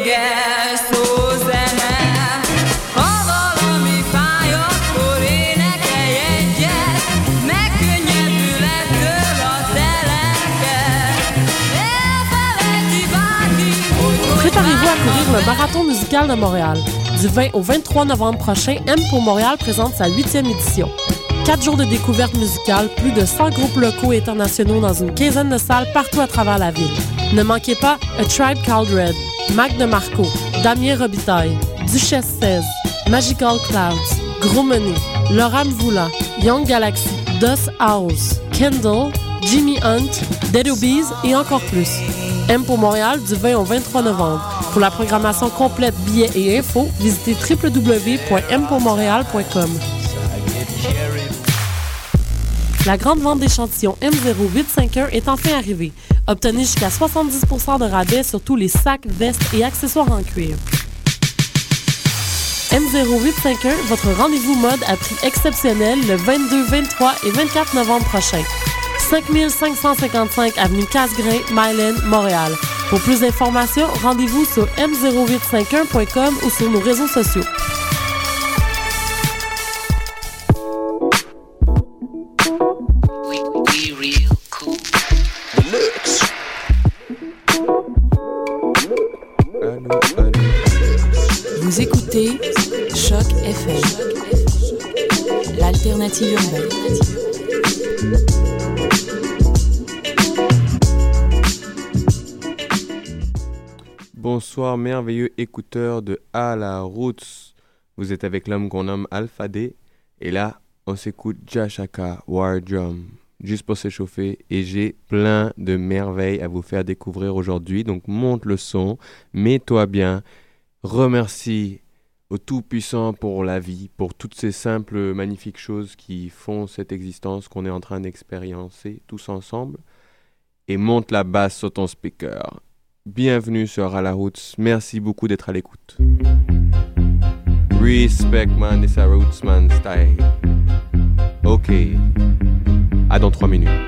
éges szó zene. Ha valami fáj, akkor énekelj egyet, megkönnyebbül ettől a te lelked. Elfelejti bárki, hogy Préparez-vous à courir le Marathon musical de Montréal. Du 20 au 23 novembre prochain, M pour Montréal présente sa 8e édition. 4 jours de découverte musicale, plus de 100 groupes locaux et internationaux dans une quinzaine de salles partout à travers la ville. Ne manquez pas A Tribe Called Red, Mac DeMarco, Damien Robitaille, Duchesse 16, Magical Clouds, Gros Money, Laura Mvula, Young Galaxy, Dust House, Kendall, Jimmy Hunt, Dead Obies et encore plus. M pour Montréal du 20 au 23 novembre. Pour la programmation complète, billets et infos, visitez www.mpourmontréal.com. La grande vente d'échantillons M0851 est enfin arrivée. Obtenez jusqu'à 70% de rabais sur tous les sacs, vestes et accessoires en cuir. M0851, votre rendez-vous mode à prix exceptionnel le 22, 23 et 24 novembre prochain. 5555 avenue Casgrain, Mylène, Montréal. Pour plus d'informations, rendez-vous sur m0851.com ou sur nos réseaux sociaux. Vous écoutez Choc FM, l'alternative urbaine. Bonsoir merveilleux écouteurs de À la Roots. Vous êtes avec l'homme qu'on nomme Alpha D. Et là, on s'écoute Jashaka War Drum. Juste pour s'échauffer. Et j'ai plein de merveilles à vous faire découvrir aujourd'hui. Donc monte le son, mets-toi bien. Remercie au Tout-Puissant pour la vie, pour toutes ces simples, magnifiques choses qui font cette existence qu'on est en train d'expériencer tous ensemble. Et monte la basse sur ton speaker. Bienvenue sur À la Roots. Merci beaucoup d'être à l'écoute. Respect, man. It's a Rootsman style. Ok. À dans 3 minutes.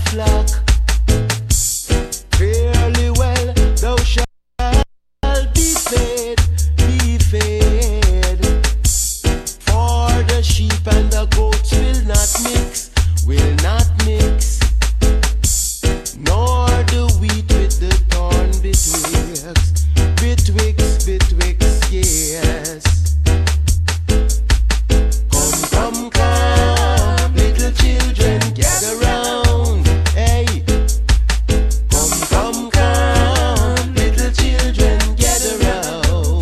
flock. Fairly well, thou shalt be fed, be fed. For the sheep and the goats will not mix, will not mix. Nor the wheat with the corn betwixt, betwixt, betwixt, yes. Come, come, come, little children, gather round, hey. Come, come, come, little children, gather round.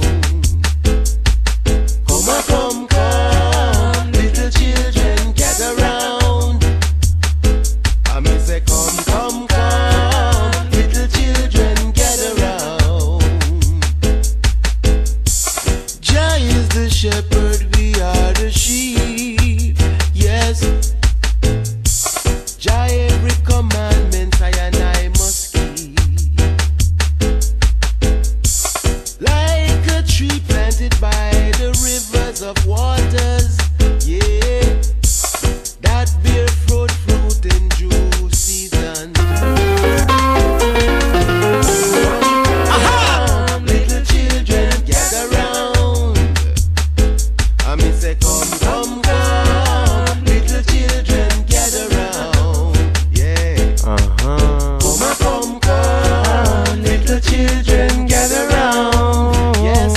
Come, come, little children, gather round. I may say, come, come, come, little children, gather round. Jah is the shepherd, we are the sheep. Yes, Jah every commandment I and I must keep. Like a tree planted by the rivers of waters, yeah, that bear fruit in due season. Aha! Little children, gather round. I mean say come, come, come, little children, gather round. Yeah. Come, come, little children, gather round. Yes.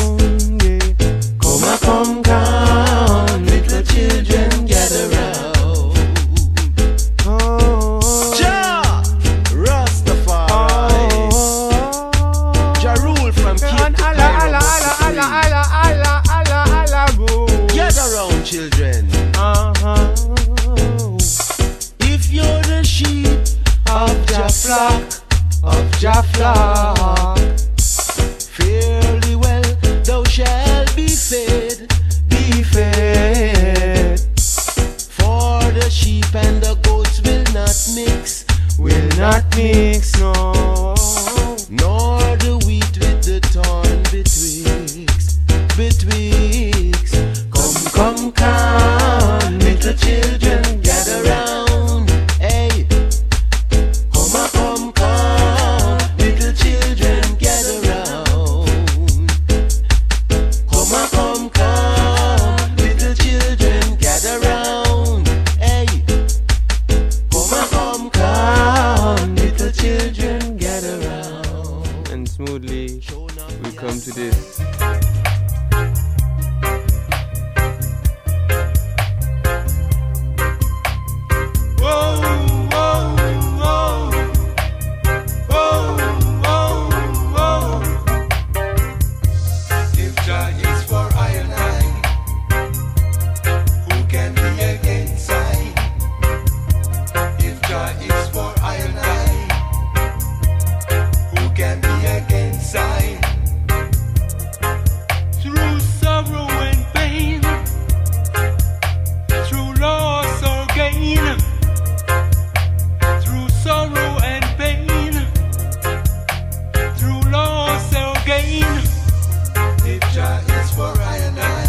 Come, come, little children, gather round. Jah Rastafari, Jah rule from Cape to Cairo. Gather round, children. If you're the sheep of Jah flock, fairly well thou shalt be fed, be fed. For the sheep and the goats will not mix, no. Nor the wheat with the corn betwixt, betwixt. Come, come, little children, gather round, hey. Come, little children, gather round. Come, little children, gather round, hey. Come, little children, gather round. And smoothly, we come to this. If Jah is for I and I, who can be against I? If Jah is for I and I, who can be against I? Through sorrow and pain, through loss or gain, through sorrow and pain, through loss or gain. If Jah is for I and I,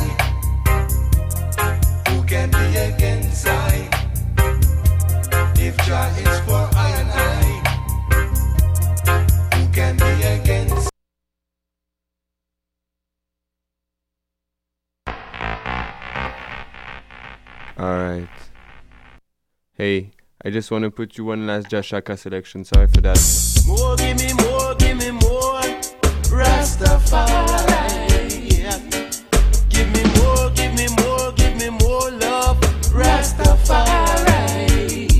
who can be against I? If Jah is for I and I, who can be against? Alright. Hey, I just want to put you one last Jashaka selection. Sorry for that. More, give me more, Rastafari. Yeah. Give me more, give me more, give me more love, Rastafari.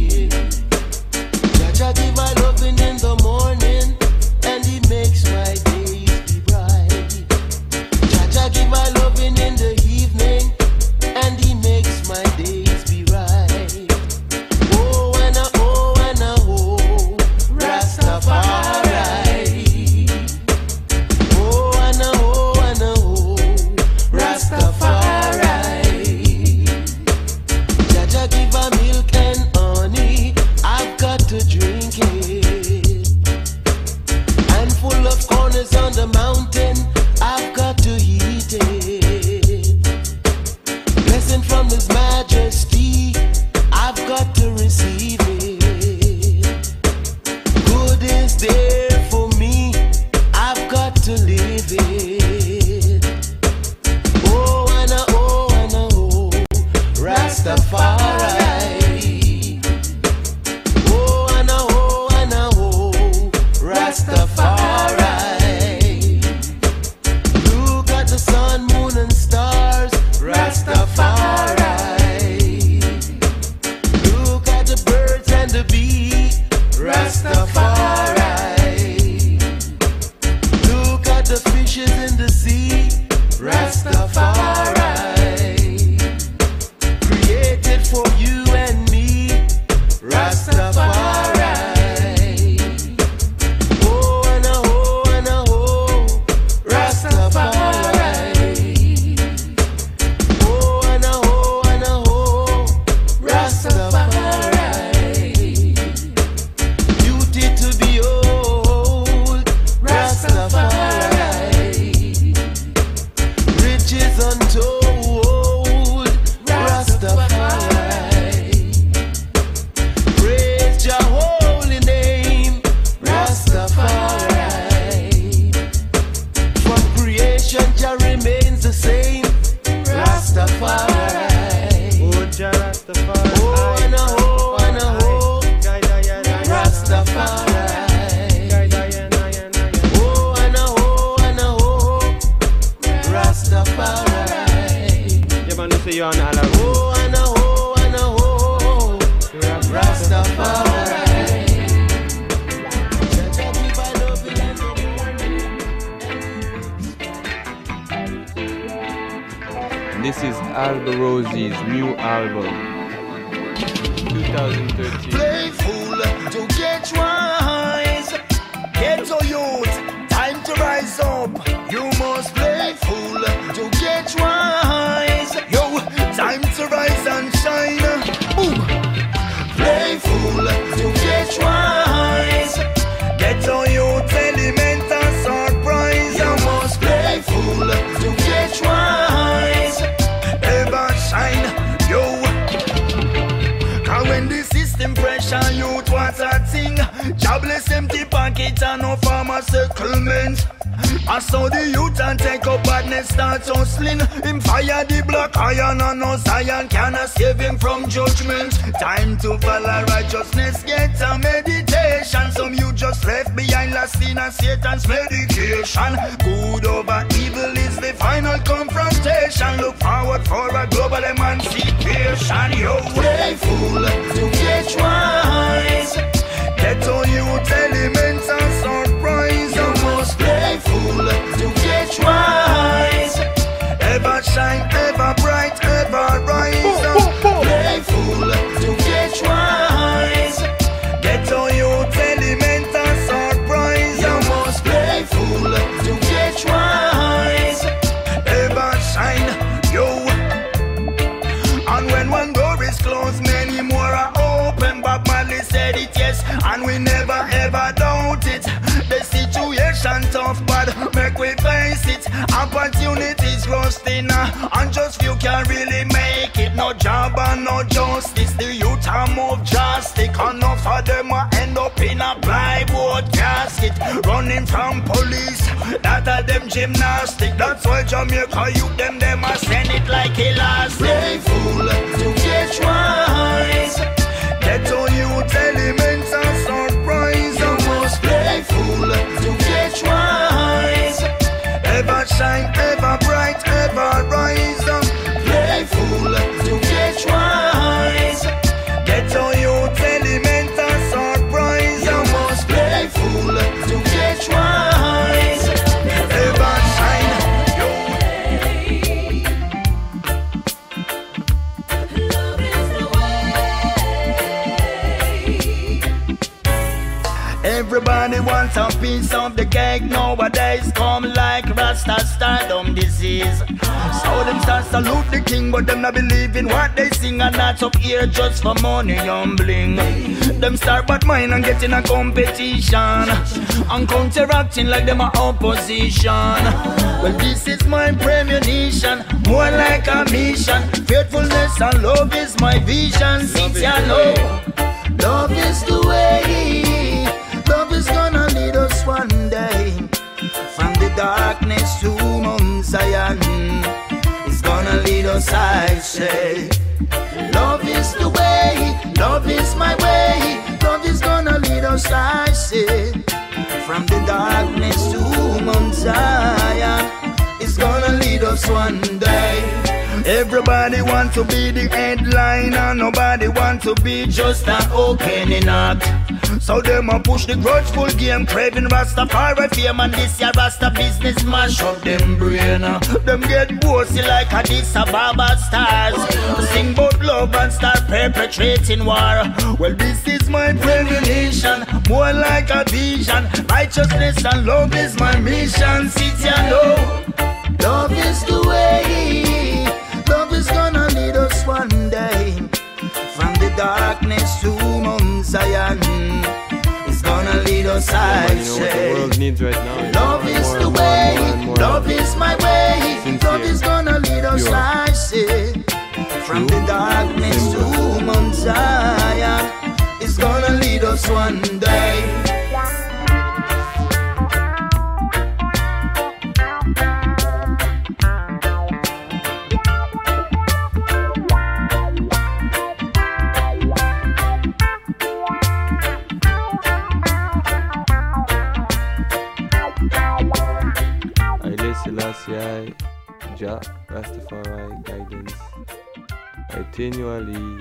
Jah give my loving in the morning, and he makes my days be bright. Jah give my loving in the evening, and he makes my days be right. Oh, and oh, Rastafari. Oh, and oh, Rastafari. Jah give a milk and honey, I've got to drink it. And full of corners on the mountain, I've got to eat it. Blessing from His Majesty, I've got to receive it. Oh, and a ho, and a ho, Rastafari. Oh, and a ho, and a ho, Rastafari. Beauty to behold, Rastafari. Riches untold, Rastafari. Praise your holy name, Rastafari. From creation, Jah remains the same, Rastafari. Oh, and a ho, and a ho, Rastafari. Oh, and a ho, and a ho, Rastafari. Yeah, man, say you on all around. Oh, and a ho, and a ho, Rastafari. Jah give our love in the morning. This is Alba Rosie's new album, 2013. Playful to get wise. Get your youth, time to rise up. You must playful to get wise. Yo, time to rise and shine. Boom. Playful to get wise. Get your youth, elemental surprise. You must playful to get wise. Ever shine, yo. Cause when the system pressure youth, what's a thing? Jobless, empty pocket and no farmer settlement. I saw the youth and take up badness start hustling. Him fire the black iron and no Zion cannot save him from judgment. Time to follow righteousness, get a meditation. Some you just left behind last in a Satan's medication. Good over evil is the final confrontation. Look forward for a global emancipation. Yo, playful to get wise. Get all youth elements and surprise. You must playful to get wise. Ever shine, ever bright, ever rise. Playful to get wise. Get all youth elements and surprise. You must playful to get wise. Ever shine, yo. And when one door is closed, many more are open. Bob Marley said it, yes, and we never ever doubt it. The situation tough, but make we face it. Opportunities rusting, and just few can really make it. No job and no justice. The youth are move drastic. Enough of them will end up in a plywood casket, running from police. That are them gymnastic. That's why Jamaica youth them a send it like elastic. Playful to get wise. Get all youth elements and surprise. You must playful to get wise. Ever shine, ever bright, ever rise. Playful to get wise. Get all youth elements and surprise. You must playful to get wise. Ever shine, yo. Everybody wants a piece of the cake nowadays. Come like Rasta stardom disease. So them start salute the king, but them not believe in what they sing. And not up here just for money and bling. Them start bad mind and get in a competition, and counteracting like them are opposition. Well, this is my premonition, more like a mission. Faithfulness and love is my vision. Since you know, love is the way. Love is gonna lead us one day from the darkness to Mount Zion. It's gonna lead us, I say. Love is the way, love is my way. Love is gonna lead us, I say. From the darkness to Mount Zion. It's gonna lead us one day. Everybody want to be the headliner. Nobody want to be just an opening act. So them a push the grudgeful game, craving Rastafari fame, and this year Rasta business mash up them brain. Them get bossy like Addis Ababa stars. Sing about love and start perpetrating war. Well, this is my premonition, more like a vision. Righteousness and love is my mission. Sit and know, love is the way. Love is gonna lead us one day from the darkness to Mount Zion. It's gonna lead us, I say. The world needs right now. Love is the way. Love is my way. Love is gonna lead us, I say. From the darkness to Mount Zion. It's gonna lead us one day. Selassie, Jah, Rastafari, guidance, continually.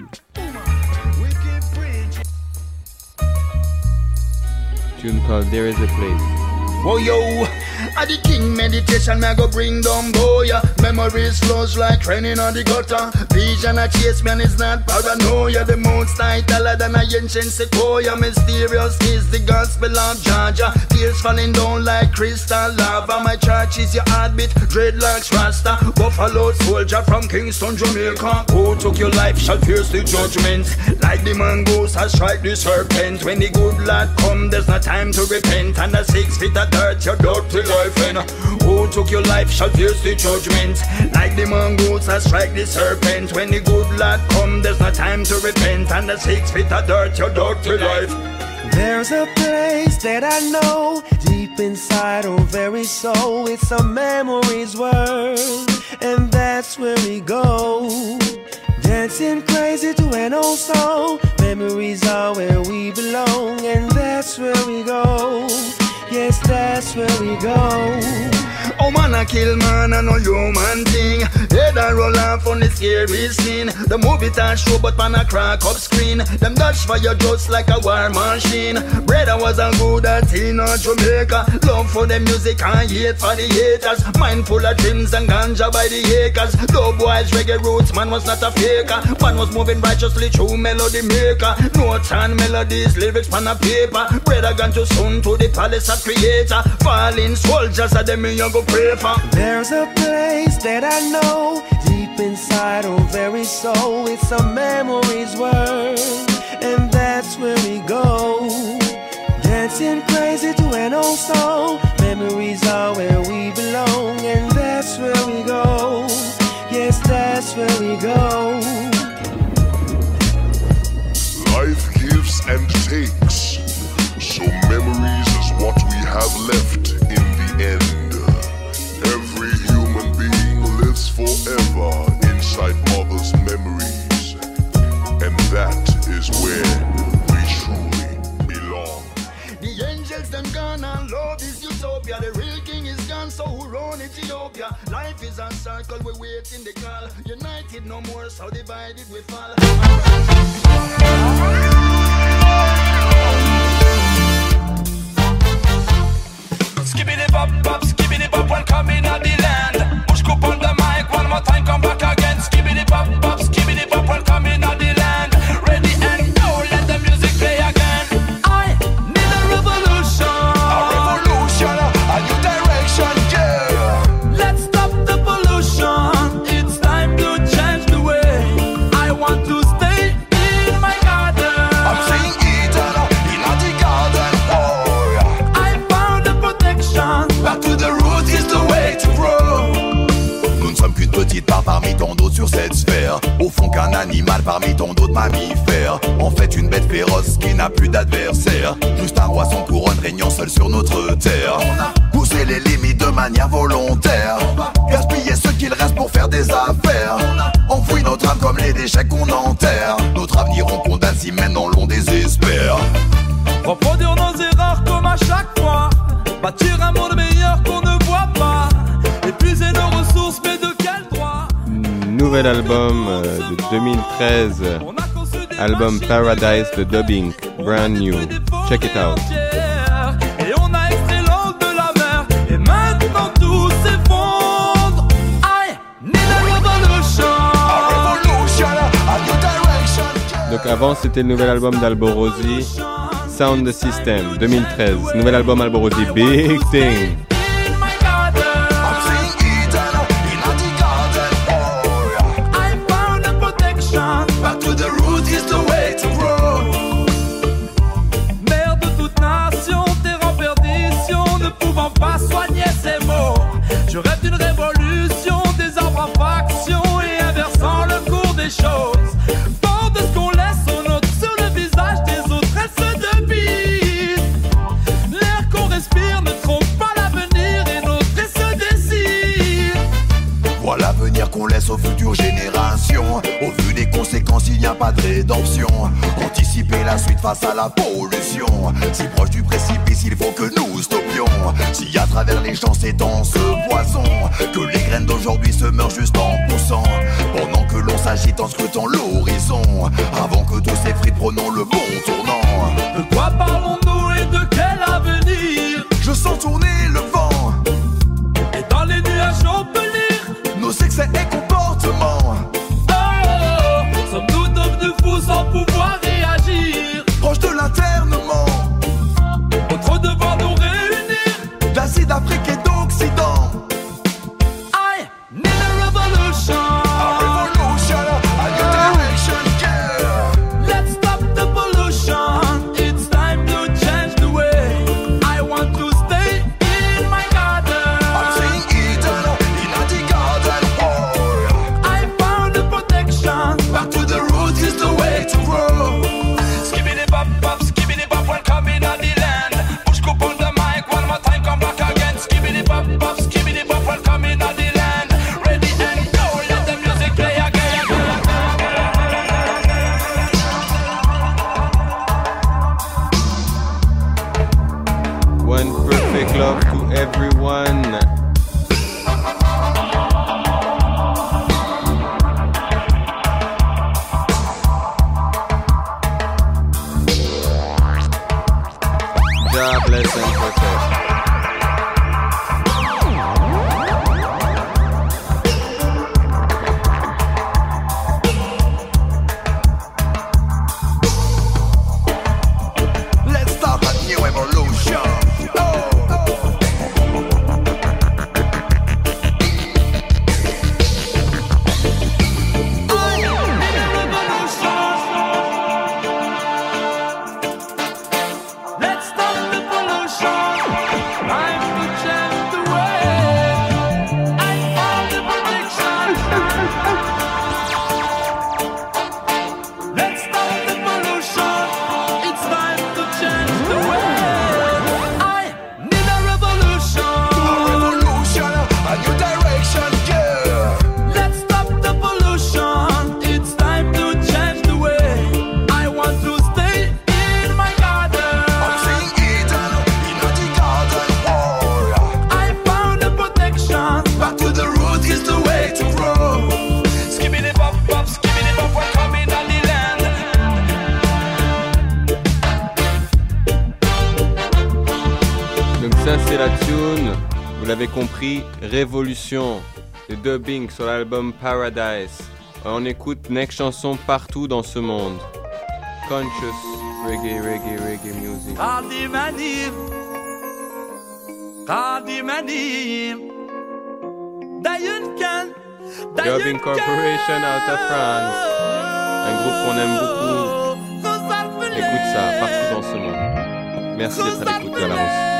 Tune called There Is a Place. Oh yo, at the king meditation, me go bring down boy. Memories flows like training on the gutter. Vision a chase man is not paranoia. The most high taller than a ancient sequoia. Mysterious is the gospel of Georgia. Tears falling down like crystal lava. My church is your heartbeat, dreadlocks Rasta. Buffalo soldier from Kingston, Jamaica. Who took your life shall pierce the judgment. Like the mongoose I strike the serpent. When the good Lord come, there's no time to repent. And the 6 feet of dirt, your dirty life. And who took your life shall pierce the judgment. Like the mongoose I strike the serpent. When the good Lord come, there's no time to repent. And the 6 feet of dirt, your dirty life. There's a place that I know deep inside our very soul. It's a memories world, and that's where we go. Dancing crazy to an old song. Memories are where we belong, and that's where we go. Yes, that's where we go. Oh man, I kill man, I no human thing. Head I roll off on the scary scene. The movie time show, but man I crack up screen. Them dash fire just like a war machine. Brother was a good at in Jamaica. Love for the music and hate for the haters. Mind full of dreams and ganja by the acres. Dope boys, reggae roots, man was not a faker. Man was moving righteously through melody maker. Notes and melodies, lyrics on a paper. Brother gone too soon to the palace of creator. Falling soldiers are them you go pray for. There's a place that I know deep inside our very soul. It's a memories world, and that's where we go. Dancing crazy to an old song. Memories are where we belong, and that's where we go. Yes, that's where we go. Life gives and takes, so memories is what we have left in the end. Every human being lives forever inside mother's memories, and that is where we truly belong. The angels them gone and love is utopia. The real king is gone, so who run Ethiopia? Life is a circle, we wait in the call. United no more, so divided we fall. Skibbity bop bop, skibbity bop, welcome in the land. Push cup on the mic, one more time, come back again. Skibbity bop bop, skibbity bop, welcome in the land. Ready and go, let the music play again. I need a revolution. A revolution, a new direction, yeah. Let's stop the pollution. It's time to change the way. I want to stay in my garden. I'm saying Eden, in the garden, oh yeah. I found the protection. Back to the roots is the way to grow. Nous ne sommes qu'une petite part parmi tant d'autres sur cette sphère. Au fond qu'un animal parmi tant d'autres mammifères. En fait une bête féroce qui n'a plus d'adversaire. Juste un roi sans couronne régnant seul sur notre terre. On a poussé les limites de manière volontaire. Gaspiller ce qu'il reste pour faire des affaires. On enfouit notre âme comme les déchets qu'on enterre. Notre avenir on condamne si maintenant l'on désespère. Reproduire nos erreurs comme à chaque fois. Bâtir un monde meilleur qu'on ne voit pas. Épuiser nos ressources, mais de quel droit? Nouvel album de 2013, album Paradise de Dubbing, brand new. Check it out. Et on a extrait l'eau de la mer, et maintenant tout s'effondre. I need a revolution. A revolution, a new direction. Donc avant, c'était le nouvel album d'Alborosi, Sound the System, 2013. Nouvel album Alborosi, Big Thing. Je rêve d'une révolution, des arbres en faction et inversant le cours des choses. Fort de ce qu'on laisse aux nôtres sur le visage des autres, elle se débite. L'air qu'on respire ne trompe pas l'avenir et notre et se décide. Voilà l'avenir qu'on laisse aux futures générations. Au vu des conséquences, il n'y a pas de rédemption. Anticiper la suite face à la pollution. Si proche du précipice, il faut que nous stoppions. Si à travers les champs s'étend ce poison, que les graines d'aujourd'hui se meurent juste en poussant. Pendant que l'on s'agite en scrutant l'horizon, avant que tous s'effritent, prenons le bon tournant. De quoi parlons-nous et de quel avenir? Je sens tourner le vent, et dans les nuages on peut lire nos excès et comportements. Oh, sommes-nous devenus fous sans pouvoir réagir? Proche de l'internement, notre devoir nous réunir d'Asie, d'Afrique et d'Occident. I need a revolution. A revolution, a new direction, yeah. Let's stop the pollution. It's time to change the way. I want to stay in my garden. I'm saying Eden, in the garden. Oh, I found the protection. back to the roots is the way to grow. Skibbity bop bop, skibbity bop, welcome in the land. Push up on the mic one more time, come back again. Skibbity bop bop, skibbity bop, welcome in the land. Ready and go, let the music play again. One perfect love to everyone. God bless and protect. Let's start a new evolution. Oh. Let's stop the pollution. Time to change the way. I found the protection. Let's stop the pollution. It's time to change the way. I need a revolution. A revolution, a new direction, yeah. Let's stop the pollution. It's time to change the way. I want to stay in my garden. I'm saying Eden, in the garden. Oh, I found the protection. back to the roots is the way to grow. Skibbity bop bop, skibbity bop, welcome in the land. Donc ça c'est la tune, vous l'avez compris, Révolution, le dubbing sur l'album Paradise. On écoute next chanson partout dans ce monde. Conscious reggae music. Radi Mani, Dayunkan, Dubbing Corporation out of France. Un groupe qu'on aime beaucoup. Écoute ça partout dans ce monde. Merci d'être à l'écoute de la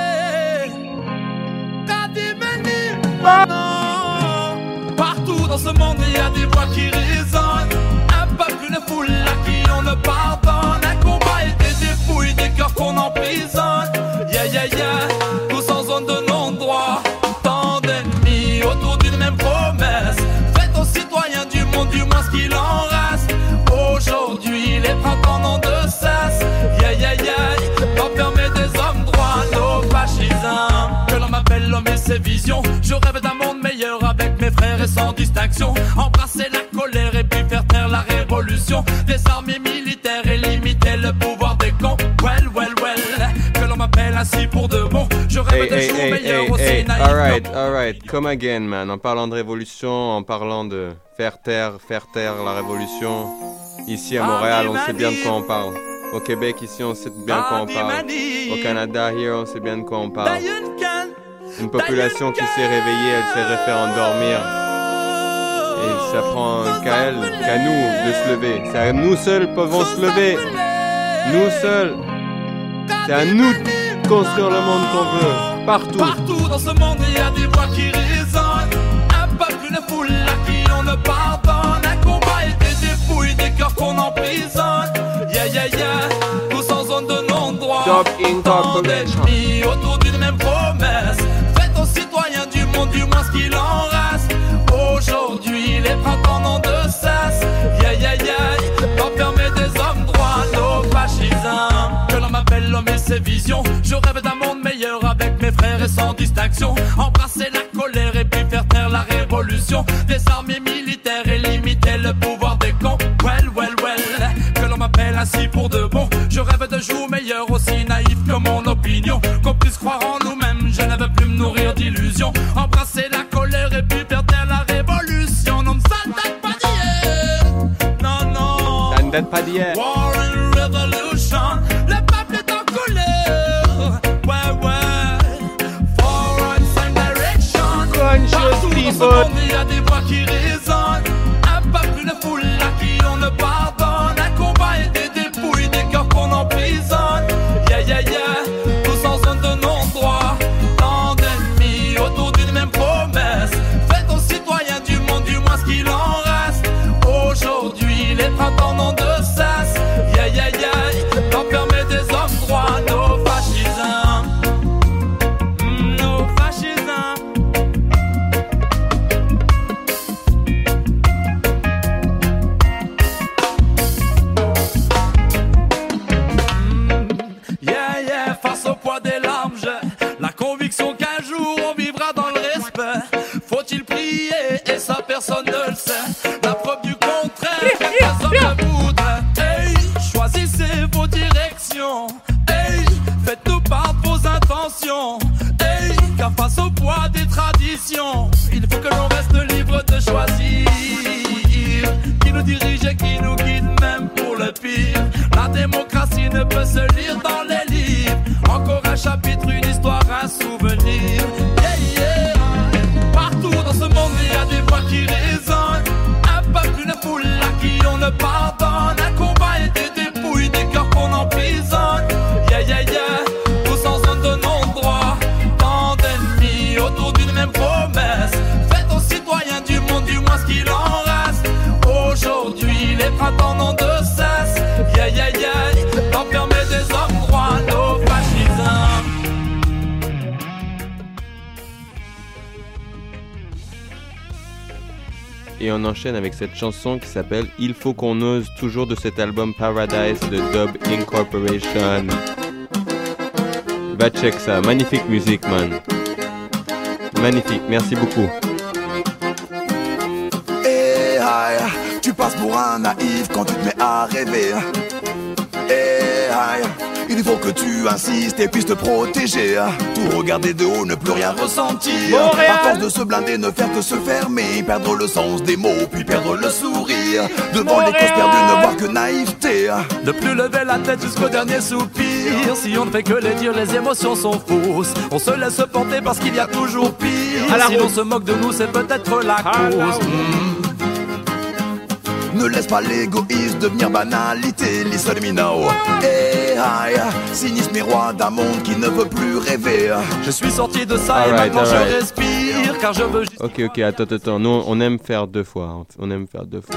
Rousse. Partout dans ce monde, il y a des voix qui résonnent. Un peuple, une foule à qui on ne pardonne. Un combat et des dépouilles, des cœurs qu'on emprisonne. Yeah, yeah, yeah, tous en zone de non-droit. Tant d'ennemis autour d'une même promesse. Faites aux citoyens du monde, du moins ce qu'il en reste. Aujourd'hui, les printemps n'ont de cesse. Yeah, yeah, yeah, enfermer des hommes droits, nos fascisants. Que l'on m'appelle l'homme et ses visions. Je rêve d'un monde meilleur avec mes frères et sans distinction. Embrasser la colère et puis faire taire la révolution. Des armées militaires et limiter le pouvoir des cons. Well, well, well. m'appelle ainsi pour de bon. Je rêve de jours meilleurs aussi naïfs. Alright, come again, man. En parlant de révolution, en parlant de faire taire la révolution. Ici à Montréal, on sait bien de quoi on parle. Au Québec, ici, on sait bien de quoi on parle. Au Canada, here, on sait bien de quoi on parle. Une population qui s'est réveillée, elle s'est fait endormir. Et ça prend qu'à nous de se lever. C'est à nous seuls pouvons se lever. Nous seuls. C'est à nous de construire le monde qu'on veut. Partout. Partout dans ce monde, il y a des voix qui résonnent. Un peuple, une foule à qui on ne pardonne. Un combat et des dépouilles, des cœurs qu'on emprisonne. Yeah, yeah, yeah. Tous en zone de non-droit. Tant d'ennemis autour d'une même promesse. Faites aux citoyens du monde du moins ce qu'il en reste. Aujourd'hui, les printemps n'ont de cesse. Yeah, yeah, yeah. Enfermer des hommes droits, nos fascisants. Que l'on m'appelle l'homme et ses visions. Je rêve d'un monde meilleur avec mes frères et sans distinction. Embrasser la colère et puis faire taire la révolution. Des armées militaires et limiter le pouvoir des cons. Well, well, well. Que l'on m'appelle ainsi pour de bon. Je rêve de jours meilleurs aussi naïfs que mon opinion. Qu'on puisse croire en nous-mêmes. Je ne veux plus me nourrir d'illusions. Embrasser la colère et puis faire taire la révolution. Non, ça ne date pas d'hier. Non, non. Ça ne date pas d'hier. War and revolution. Le peuple est en colère. Ouais, ouais. For and same direction. Partout dans ce monde, il y a des voix qui résonnent. Un peuple, une foule à qui on ne pardonne. Un combat et des dépouilles, des cœurs qu'on emprisonne. Yeah, yeah, yeah. Tous en zone de non-droit. Tant d'ennemis autour d'une même promesse. Faites aux citoyens du monde du moins ce qu'il en reste. Aujourd'hui, les printemps n'ont de cesse. Yeah, yeah, yeah. D'enfermer des hommes droits, nos fascisants. Nos fascisants. Yeah, yeah, face au poids des larmes, j'ai la conviction qu'un jour on vivra dans le respect. Faut-il prier et ça personne ne le sait. La preuve du contraire, les hommes le voudraient. Hey, choisissez vos directions. Hey, faites-nous part de vos intentions. Hey, car face au poids des traditions, il faut que l'on reste libre de choisir. Qui nous dirige et qui nous guide même pour le pire. La démocratie ne peut se lire dans les livres. Encore un chapitre, une histoire, un souvenir. Yeah, yeah. Partout dans ce monde, il y a des voix qui résonnent. Un peuple, une foule à qui on ne pardonne. Un combat et des dépouilles, des cœurs qu'on emprisonne. Yeah, yeah, yeah. Tous en zone de non-droit. Tant d'ennemis autour d'une même promesse. Faites aux citoyens du monde du moins ce qu'il en reste. Aujourd'hui, les printemps n'ont de cesse. Yeah, yeah, yeah. D'enfermer des hommes droits, nos fascisants. Et on enchaîne avec cette chanson qui s'appelle Il faut qu'on ose, toujours de cet album Paradise de Dub Incorporation. Va check ça, magnifique musique, man. Magnifique, merci beaucoup. Hey, hi, tu passes pour un naïf quand tu te mets à rêver. Hey, hi, il faut que tu insistes et puisses te protéger. Tout regarder de haut, ne plus rien ressentir. Montréal. À force de se blinder, ne faire que se fermer. Perdre le sens des mots, puis perdre le sourire. Devant les causes perdues, ne voir que naïveté. Ne plus lever la tête jusqu'au dernier soupir. Si on ne fait que les dire, les émotions sont fausses. On se laisse porter parce qu'il y a toujours pire. Si l'on se moque de nous, c'est peut-être la cause. Ne laisse pas l'égoïsme devenir banalité. Listen to me now. Hey, hi, sinistre miroir d'un monde qui ne veut plus rêver. Je suis sorti de ça et maintenant je respire. Car je veux juste... Ok, attends. Nous, on aime faire deux fois. On aime faire deux fois.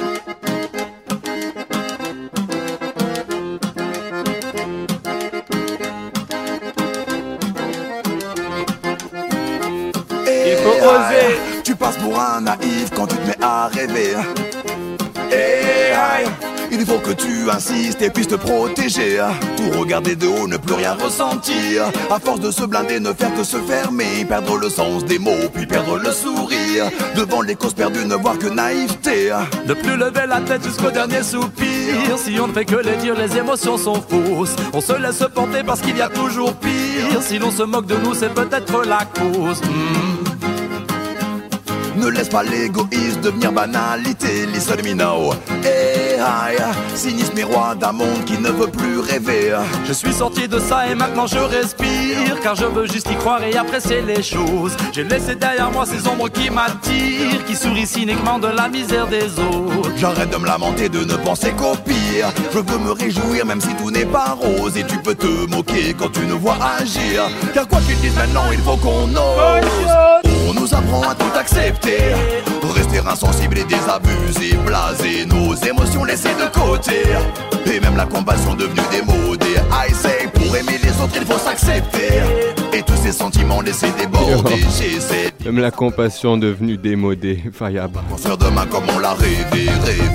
Il faut oser. Tu passes pour un naïf quand tu te mets à rêver. Hey, hi, Il faut que tu insistes et puisses te protéger. Tout regarder de haut, ne plus rien ressentir. À force de se blinder, ne faire que se fermer. Perdre le sens des mots, puis perdre le sourire. Devant les causes perdues, ne voir que naïveté. Ne plus lever la tête jusqu'au dernier soupir. Si on ne fait que les dire, les émotions sont fausses. On se laisse porter parce qu'il y a toujours pire. Si l'on se moque de nous, c'est peut-être la cause. Ne laisse pas l'égoïsme devenir banalité. Listen to me now. Hey, hi. Cynisme et roi d'un monde qui ne veut plus rêver. Je suis sorti de ça et maintenant je respire. Car je veux juste y croire et apprécier les choses. J'ai laissé derrière moi ces ombres qui m'attirent, qui sourient cyniquement de la misère des autres. J'arrête de me lamenter, de ne penser qu'au pire. Je veux me réjouir même si tout n'est pas rose. Et tu peux te moquer quand tu nous vois agir. Car quoi qu'ils disent maintenant, il faut qu'on ose. On nous apprend à tout accepter. Rester insensible et désabusé, blasé, nos émotions laissées de côté. Et même la compassion devenue démodée. I say, pour aimer les autres il faut s'accepter. Et tous ces sentiments laissés déborder. J'essaie. Même la compassion devenue démodée. Fayab. Construire demain comme on l'a rêvé.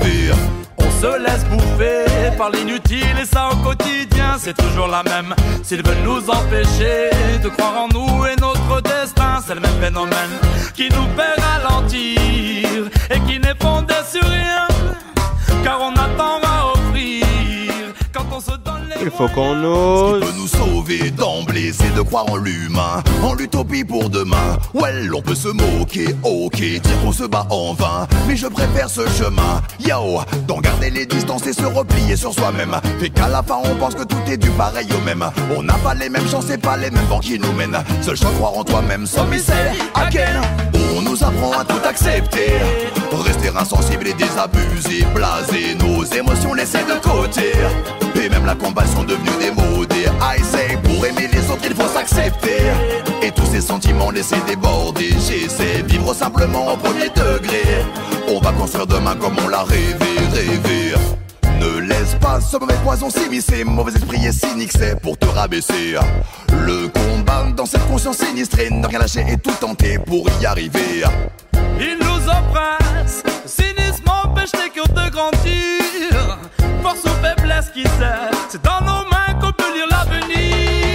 On se laisse bouffer par l'inutile et ça au quotidien c'est toujours la même. S'ils veulent nous empêcher de croire en nous et notre destin, c'est le même phénomène qui nous fait ralentir et qui n'est fondé sur rien. Car on attend à offrir quand on se donne les Il faut qu'on ose. Ce qui peut nous sauver d'emblée, c'est de croire en l'humain, en l'utopie pour demain. Well, on peut se moquer, ok, dire qu'on se bat en vain, mais je préfère ce chemin, yo, d'en garder les distances et se replier sur soi-même. Fait qu'à la fin on pense que tout est du pareil au même. On n'a pas les mêmes chances et pas les mêmes vents qui nous mènent. Seul choix croire en toi-même, some is again. On nous apprend à tout accepter. Rester insensible et désabusé, blasé, nos émotions laissées de côté. Et même la compassion devenue démodée. I say, pour aimer les autres il faut s'accepter. Et tous ces sentiments laissés déborder. J'essaie vivre simplement au premier degré. On va construire demain comme on l'a rêvé. Ne laisse pas ce mauvais poison s'immiscer. Mauvais esprit et cynique c'est pour te rabaisser. Le combat dans cette conscience sinistrée. Ne rien lâcher et tout tenter pour y arriver. Ils nous oppressent, le cynisme empêche les cœurs de grandir. Force ou faiblesse qui sait, c'est dans nos mains qu'on peut lire l'avenir.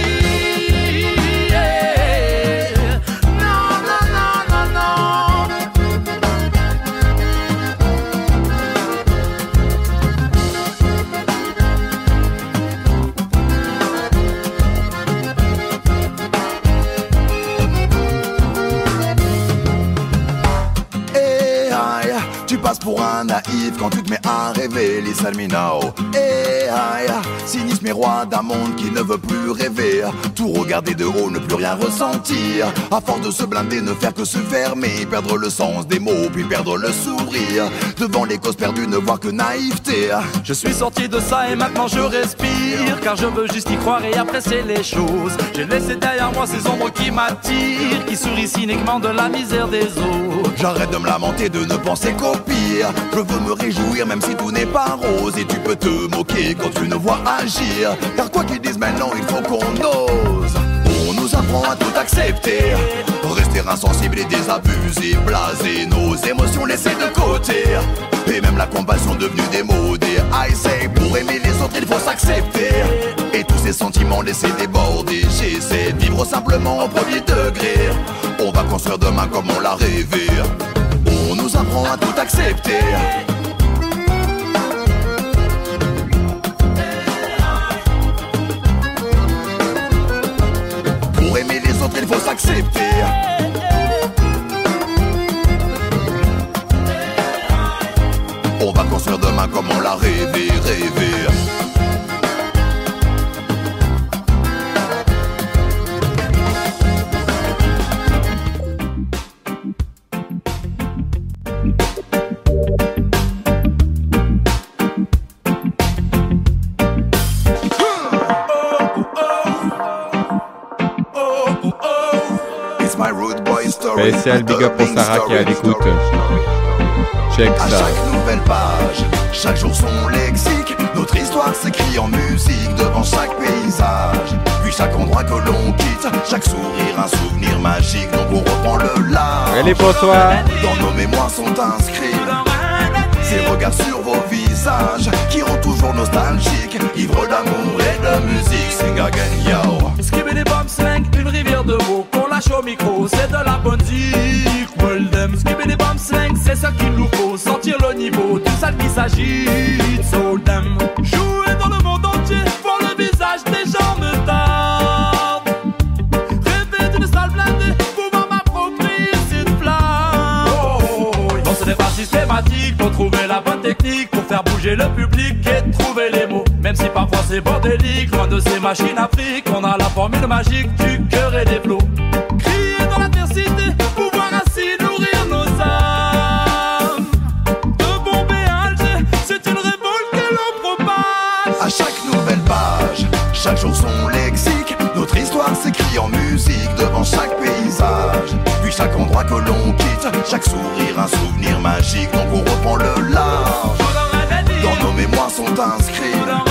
Tu passes pour un naïf quand tu te mets à rêver. Listen me now. Hey, cynisme et roi d'un monde qui ne veut plus rêver. Tout regarder de haut, ne plus rien ressentir. À force de se blinder, ne faire que se fermer. Perdre le sens des mots, puis perdre le sourire. Devant les causes perdues, ne voir que naïveté. Je suis sorti de ça et maintenant je respire. Car je veux juste y croire et apprécier les choses. J'ai laissé derrière moi ces ombres qui m'attirent, qui sourient cyniquement de la misère des autres. J'arrête de me lamenter, de ne penser qu'au pire. Je veux me réjouir même si tout n'est pas rose. Et tu peux te moquer quand tu ne vois agir. Car quoi qu'ils disent maintenant, il faut qu'on ose. On nous apprend à tout accepter. Rester insensible et désabusé, blasé, nos émotions laissées de côté. Et même la compassion devenue démodée. I say, pour aimer les autres il faut s'accepter. Et tous ces sentiments laissés déborder. J'essaie de vivre simplement au premier degré. On va construire demain comme on l'a rêvé. On nous apprend à tout accepter. Pour aimer les autres il faut s'accepter. On va construire demain comme on l'a rêvé. Spécial big up pour Sarah qui est à l'écoute. Check à ça. chaque nouvelle page, chaque jour son lexique. Notre histoire s'écrit en musique devant chaque paysage. Puis chaque endroit que l'on quitte, chaque sourire un souvenir magique. Donc on reprend le large. Allez, bonsoir. Dans nos mémoires sont inscrits ces regards sur vos visages. visages qui rendent toujours nostalgiques, ivres d'amour et de musique. Sing again, yo. Skibidi bop slang, une rivière de mots qu'on lâche au micro, c'est de la bonne zik. Well them, skibidi bop slang, c'est ce qu'il nous faut, sentir le niveau du sale qui s'agite. So them, jouer dans le monde entier, voir le visage des gens me tarde. Rêver d'une salle blindée, pouvoir m'approprier cette flamme. Non, ce n'est pas systématique, faut trouver la bonne technique pour faire bouger le public et trouver les mots. Même si parfois c'est bordélique, loin de ces machines afriques, on a la formule magique du cœur et des flots. Crier dans l'adversité, pouvoir ainsi nourrir nos âmes. De Bombay à Alger, c'est une révolte que l'on propage. À chaque nouvelle page, chaque jour son lexique, notre histoire s'écrit en musique devant chaque paysage. Puis chaque endroit que l'on quitte, chaque sourire un souvenir magique. Donc on reprend le large, dans nos mémoires sont inscrits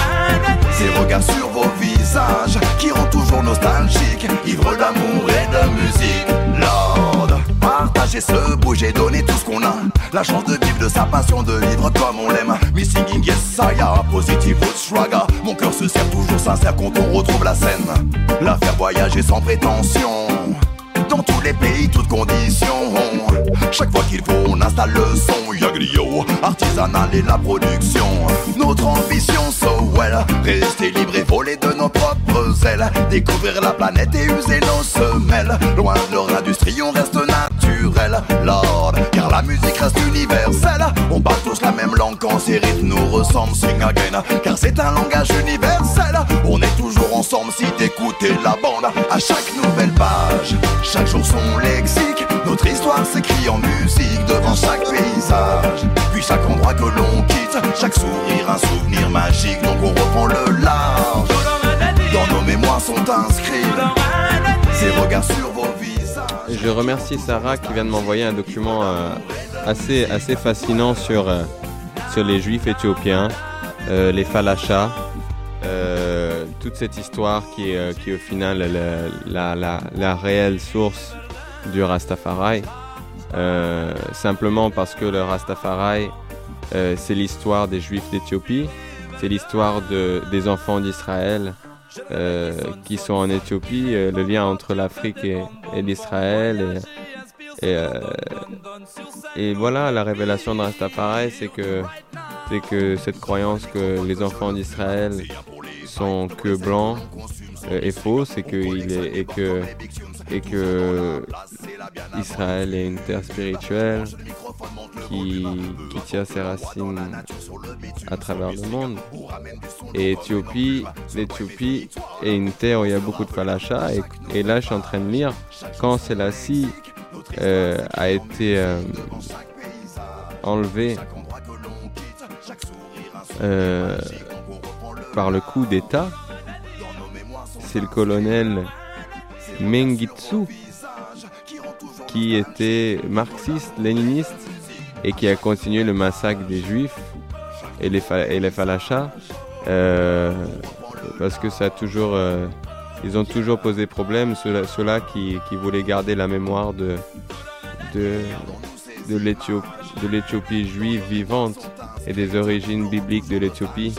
ces regards sur vos visages qui rendent toujours nostalgiques, ivres d'amour et de musique. Lord, partager, se bouger, donner tout ce qu'on a, la chance de vivre de sa passion, de vivre comme on l'aime. Me singing yes saya, positive roots raga. Mon cœur se serre toujours sincère quand on retrouve la scène. La faire voyager sans prétention, dans tous les pays, toutes conditions. Chaque fois qu'il faut, on installe le son. Yagrio, artisanal et la production. Notre ambition, so well, rester libre et voler de nos propres ailes. Découvrir la planète et user nos semelles. Loin de leur industrie, on reste naturel, Lord, car la musique reste universelle. On parle tous la même langue quand ces rythmes nous ressemblent. Sing again, car c'est un langage universel. On est toujours ensemble si t'écoutez la bande. À chaque nouvelle page, chaque jour son lexique, notre histoire s'écrit en musique devant chaque paysage. Puis chaque endroit que l'on quitte, chaque sourire un souvenir magique. Donc on reprend le large, dans nos mémoires sont inscrits ces regards sur vos visages. Je remercie Sarah qui vient de m'envoyer un document assez fascinant sur les juifs éthiopiens, les falachas, toute cette histoire qui est au final la réelle source du Rastafari, simplement parce que le Rastafari, c'est l'histoire des Juifs d'Éthiopie, c'est l'histoire des enfants d'Israël qui sont en Éthiopie, le lien entre l'Afrique et l'Israël. Et voilà, la révélation de Rastafari, c'est que cette croyance que les enfants d'Israël sont que blancs est fausse, et que Israël est une terre spirituelle qui tient ses racines à travers le monde. Et l'Éthiopie est une terre où il y a beaucoup de falachas, et là je suis en train de lire quand Selassie a été enlevé par le coup d'État. C'est le colonel Mengistu qui était marxiste, léniniste, et qui a continué le massacre des Juifs et les falachas, parce que ça a toujours, ils ont toujours posé problème, ceux-là qui voulaient garder la mémoire de l'Éthiopie juive vivante et des origines bibliques de l'Éthiopie,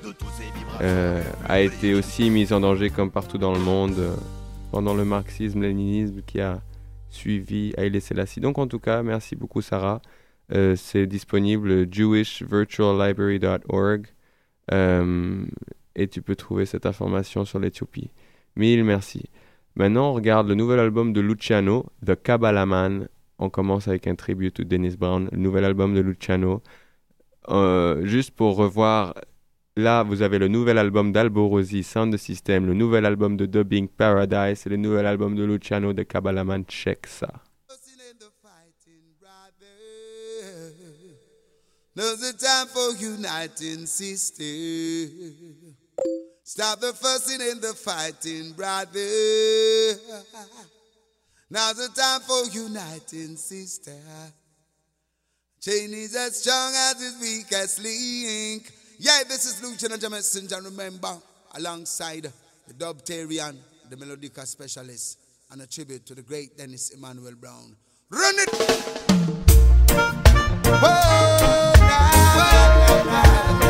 a été aussi mise en danger comme partout dans le monde pendant le marxisme-léninisme qui a suivi Haïlé Sélassie. Donc en tout cas, merci beaucoup Sarah. C'est disponible jewishvirtuallibrary.org et tu peux trouver cette information sur l'Éthiopie. Mille merci. Maintenant, on regarde le nouvel album de Luciano, The Kabbalah Man. On commence avec un tribute to Dennis Brown, le nouvel album de Luciano. Juste pour revoir, là, vous avez le nouvel album d'Alborosi, Sound System, le nouvel album de Dubbing, Paradise, et le nouvel album de Luciano, The Kabbalah Man. Check ça. Now's the time for uniting, sister. Stop the fussing and the fighting, brother. Now's the time for uniting, sister. Chain is as strong as its weakest link. Yeah, this is Luciano Messenger, remember, alongside the Dubtarian, the Melodica Specialist, and a tribute to the great Dennis Emmanuel Brown. Run it! Whoa, nah, nah, nah, nah.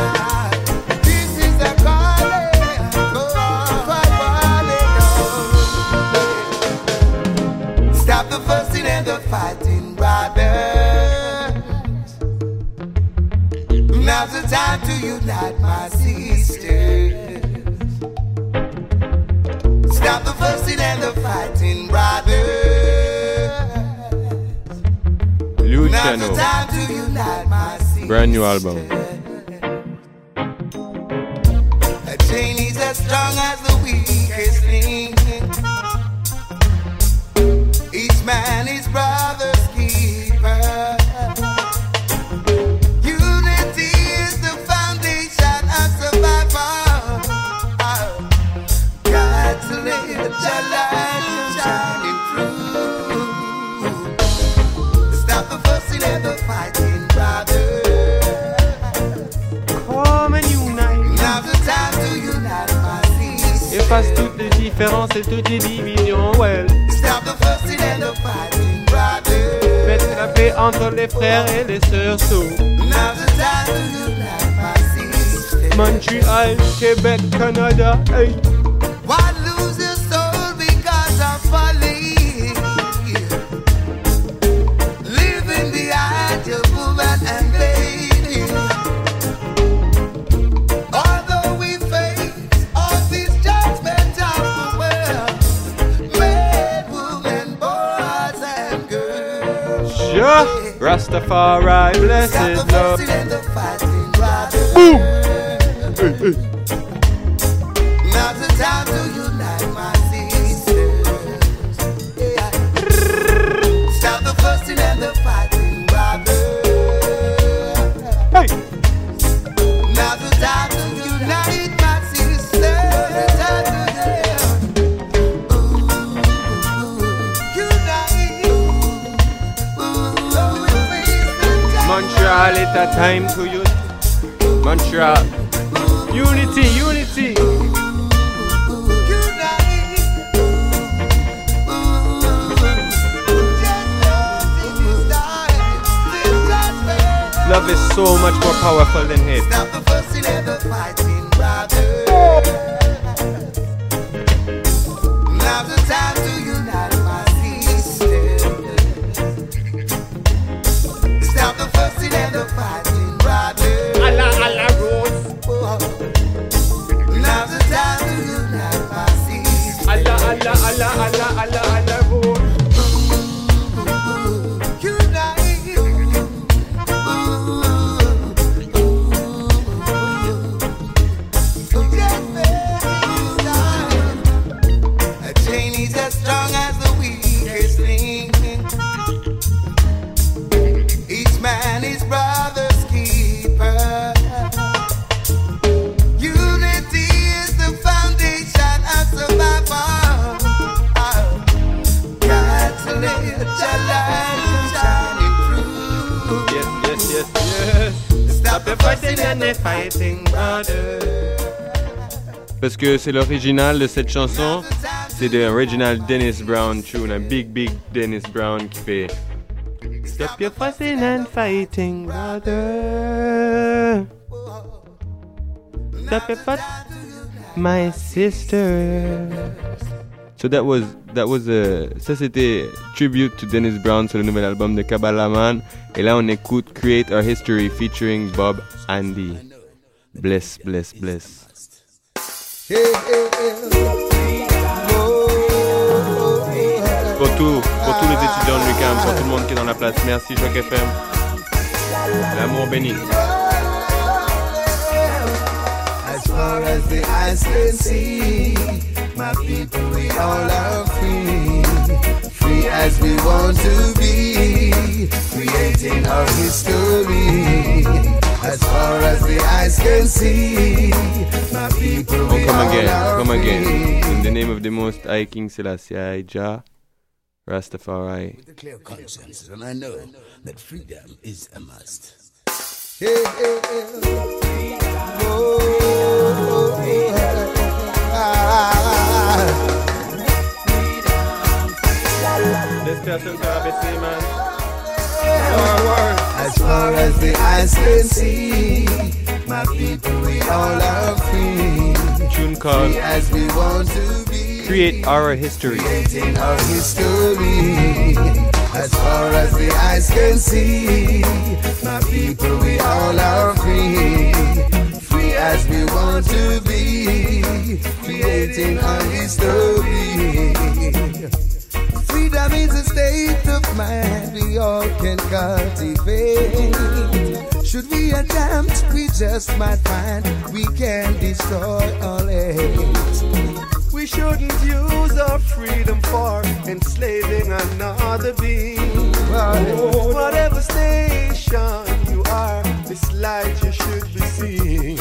and the fighting brothers. Now's the time to unite, my sisters. Stop the fussing and the fighting brothers. Now's the time to unite, my sisters. Brand new album. A chain is as strong as the weakest link. Each man is brother's keeper. Unity is the foundation of survival. God to let your light shining through. Stop the fussing and the fighting, brother. Come and unite. Now's the time to unite, my sisters. Efface toutes les différences et toutes les divisions, well. Stop the fussing and the fighting, brother. Faites la paix entre les frères et les sœurs, so. Now's the time to unite, my sisters. Montreal, Québec, Canada, hey. Why lose your soul because of folly? Living behind your woman and baby. Although we face all these judgments of the world, men, women, boys and girls. Sure. Rastafari, blessed Stop the love. fussing and the fighting, brother. Boom. Hey, hey. Now's the time to unite, my sisters. Yeah. Stop the fussing and the fighting, brother. Hey. Now's the time to unite, my sisters. Montreal, it's a time to you. Montreal. Unity, unity. Love is so much more powerful than hate. Stop the fussing and the fighting, brother. Now's the time to unite, my sisters. Stop the fussing and the fighting, brother. Allah, Rose. Now's the time to unite, my sisters. Allah, Rose. Parce que c'est l'original de cette chanson, c'est de original Dennis Brown tune, un big Dennis Brown qui fait Stop your fussing and fighting, brother. Stop your fuss, my sister. So ça c'était tribute to Dennis Brown sur le nouvel album de Kabbalah Man. Et là on écoute Create Our History featuring Bob Andy. Bless. Pour tous les étudiants de l'UQAM, pour tout le monde qui est dans la place. Merci Choc FM. L'amour béni. As far as the eyes can see, my people, we all are free. Free as we want to be, creating our history. As far as the eyes can see, my people, we all are Come free. again. In the name of the Most High King Selassie, Jah, Rastafari. With a clear conscience, and I know that freedom is a must. As far as the eyes can see, my people, we all are free. Tune called Free as we want to be. Create Our History. Creating our history. As far as the eyes can see, my people, we all are free. Free as we want to be, creating our history. Freedom is a state of mind we all can cultivate. Should we attempt, we just might find we can destroy all hate. We shouldn't use our freedom for enslaving another being. Whatever station you are, this light you should be seeing.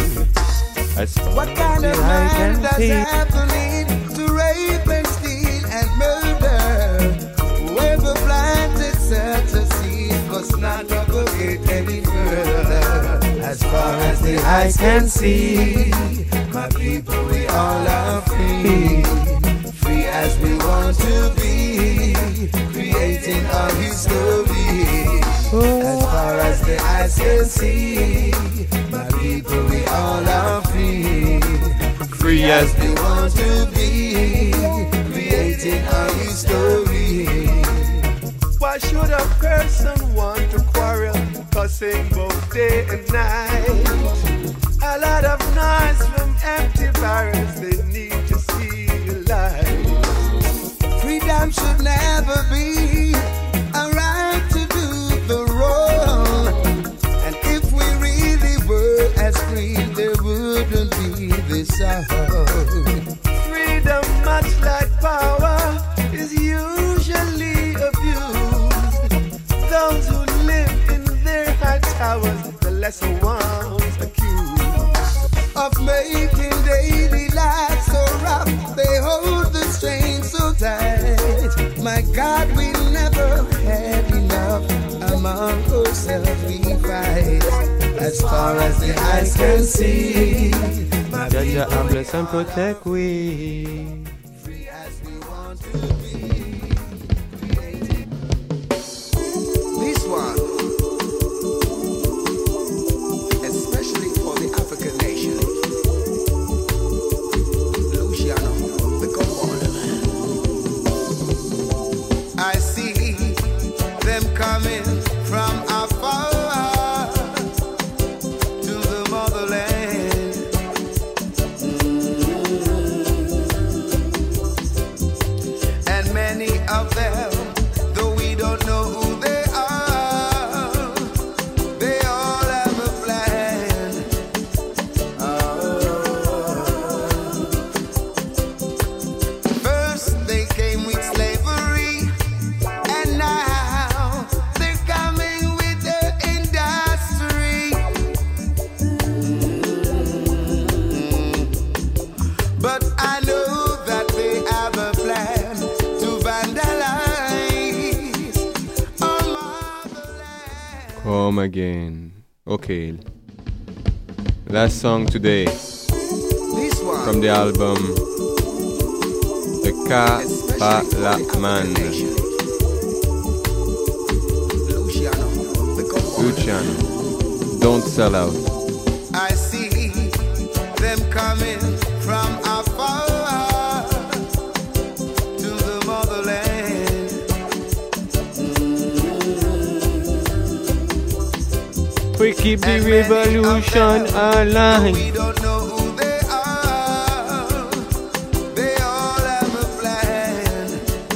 What kind of man does have the need to rape and steal and murder? Whoever planted such a seed must not propagate any further. As far as the eyes can see, my people, we all are free. Free as we want to be, creating our history. As far as the eyes can see, my people, we all are free. Free as we want to be, creating our history. Why should a person want to quarrel, cussing both day and night? A lot of noise from empty barrels, they need to see the light. Freedom should never be a right to do the wrong. And if we really were as free, there wouldn't be this sound. Freedom, much like power, is usually abused. Those who live in their high towers, the lesser ones accused of making daily life so rough. They hold the strain so tight. My God, we never had enough. Among ourselves we fight. As far as the eyes can see, my people, bless and protect we. free as we want to be. This one, especially for the African nation. Luciano, the commander. I see them coming from afar to the motherland. And many of them, though we don't know who they are, they all have a plan. First they came with slavery, and now they're coming with the industry. But I know that they have a plan to vandalize our motherland. Come again. Okay. Last song today This one, from the album The especially for the Kapalaman. African nation. Luciano, the commander. Luciano. Don't sell out. I see them coming from afar to the motherland. We keep the And many of revolution them, alive. we don't know who they are. They all have a plan.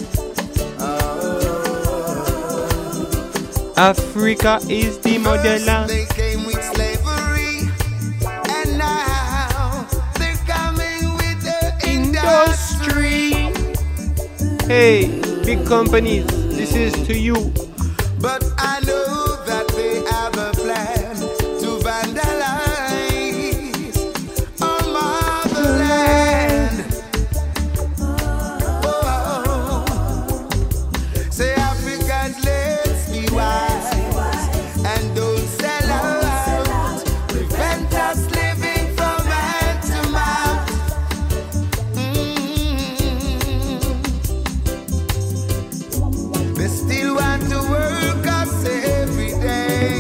Africa is the First motherland. they came with slavery, and now they're coming with the industry. Hey, big companies, this is to you. But I know that they have a plan to vandalize our motherland. Oh, say Africans, let's be wise and don't sell out. Prevent us living from hand to mouth. They still want to work us every day.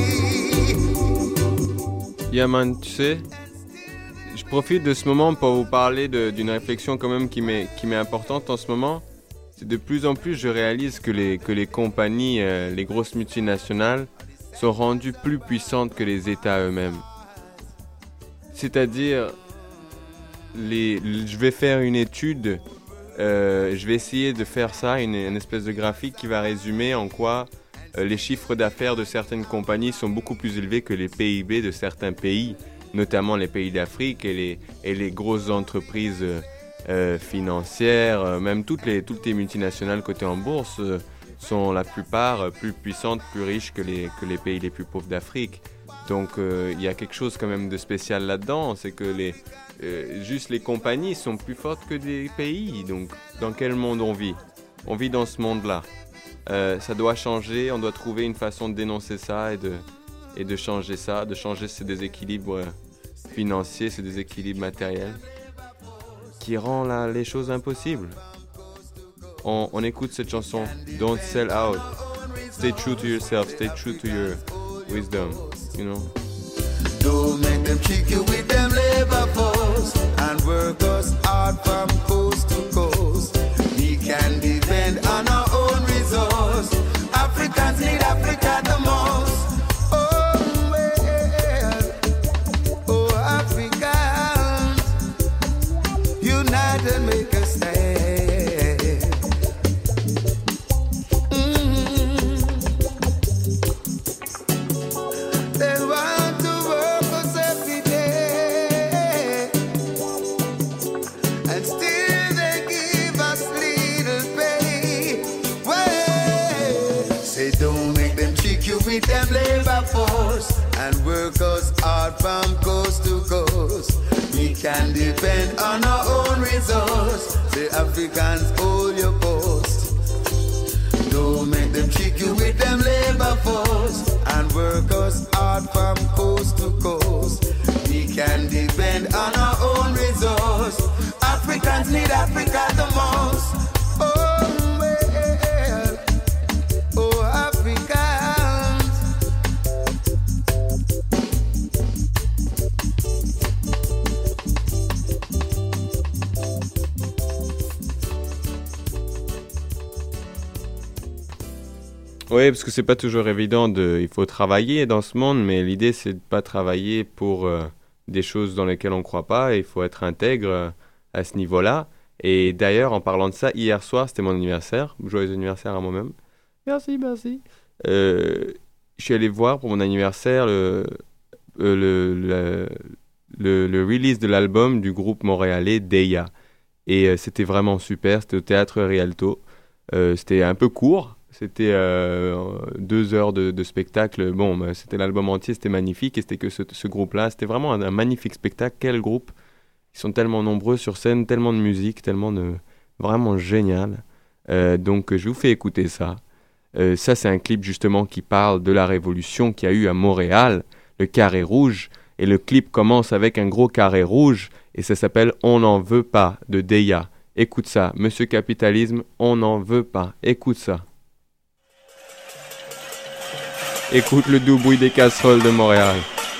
Yeah man, tu sais, je profite de ce moment pour vous parler d'une réflexion quand même qui m'est importante en ce moment. de plus en plus, je réalise que les compagnies, les grosses multinationales, sont rendues plus puissantes que les États eux-mêmes. C'est-à-dire, je vais faire une étude, je vais essayer de faire ça, une espèce de graphique qui va résumer en quoi les chiffres d'affaires de certaines compagnies sont beaucoup plus élevés que les PIB de certains pays, notamment les pays d'Afrique et les grosses entreprises financières, même toutes les multinationales cotées en bourse sont la plupart plus puissantes, plus riches que les pays les plus pauvres d'Afrique. Donc il y a quelque chose quand même de spécial là-dedans, c'est que juste les compagnies sont plus fortes que des pays. Donc dans quel monde on vit? On vit dans ce monde-là. Ça doit changer, on doit trouver une façon de dénoncer ça et de changer ça, de changer ces déséquilibres financiers, ces déséquilibres matériels qui rend les choses impossibles. On écoute cette chanson, Don't Sell Out. Stay true to yourself, stay true to your wisdom, you know. Don't make them trick you with them labor force and work us hard from coast to coast. We can depend on our own resource. Africans need Africa the most. Oh, well, oh, Africans, unite and make a stand. They want to work us every day, and still they give us little pay. Well, say don't make them trick you with them labor force and work us hard from coast to coast. We can depend on our own resource. Say Africans, hold your post. Don't make them trick you with them labor force and work us hard from coast to coast. We can depend on our own resource. Africans need Africa the most. Oh, well, oh, Africans. Oui, parce que c'est pas toujours évident il faut travailler dans ce monde, mais l'idée c'est de pas travailler pour des choses dans lesquelles on croit pas, et il faut être intègre à ce niveau-là. Et d'ailleurs, en parlant de ça, hier soir, c'était mon anniversaire. Joyeux anniversaire à moi-même. Merci, merci. Je suis allé voir pour mon anniversaire le release de l'album du groupe montréalais Deya. Et c'était vraiment super, c'était au Théâtre Rialto. C'était un peu court. C'était 2 heures de spectacle. Bon, c'était l'album entier, c'était magnifique. Et c'était que ce groupe-là. C'était vraiment un magnifique spectacle. Quel groupe! Ils sont tellement nombreux sur scène, tellement de musique, tellement de... Vraiment génial. Donc, je vous fais écouter ça. Ça, c'est un clip justement qui parle de la révolution qu'il y a eu à Montréal, le carré rouge. Et le clip commence avec un gros carré rouge. Et ça s'appelle « On n'en veut pas » de Deya. Écoute ça. Monsieur Capitalisme, on n'en veut pas. Écoute ça. Écoute le doux bruit des casseroles de Montréal.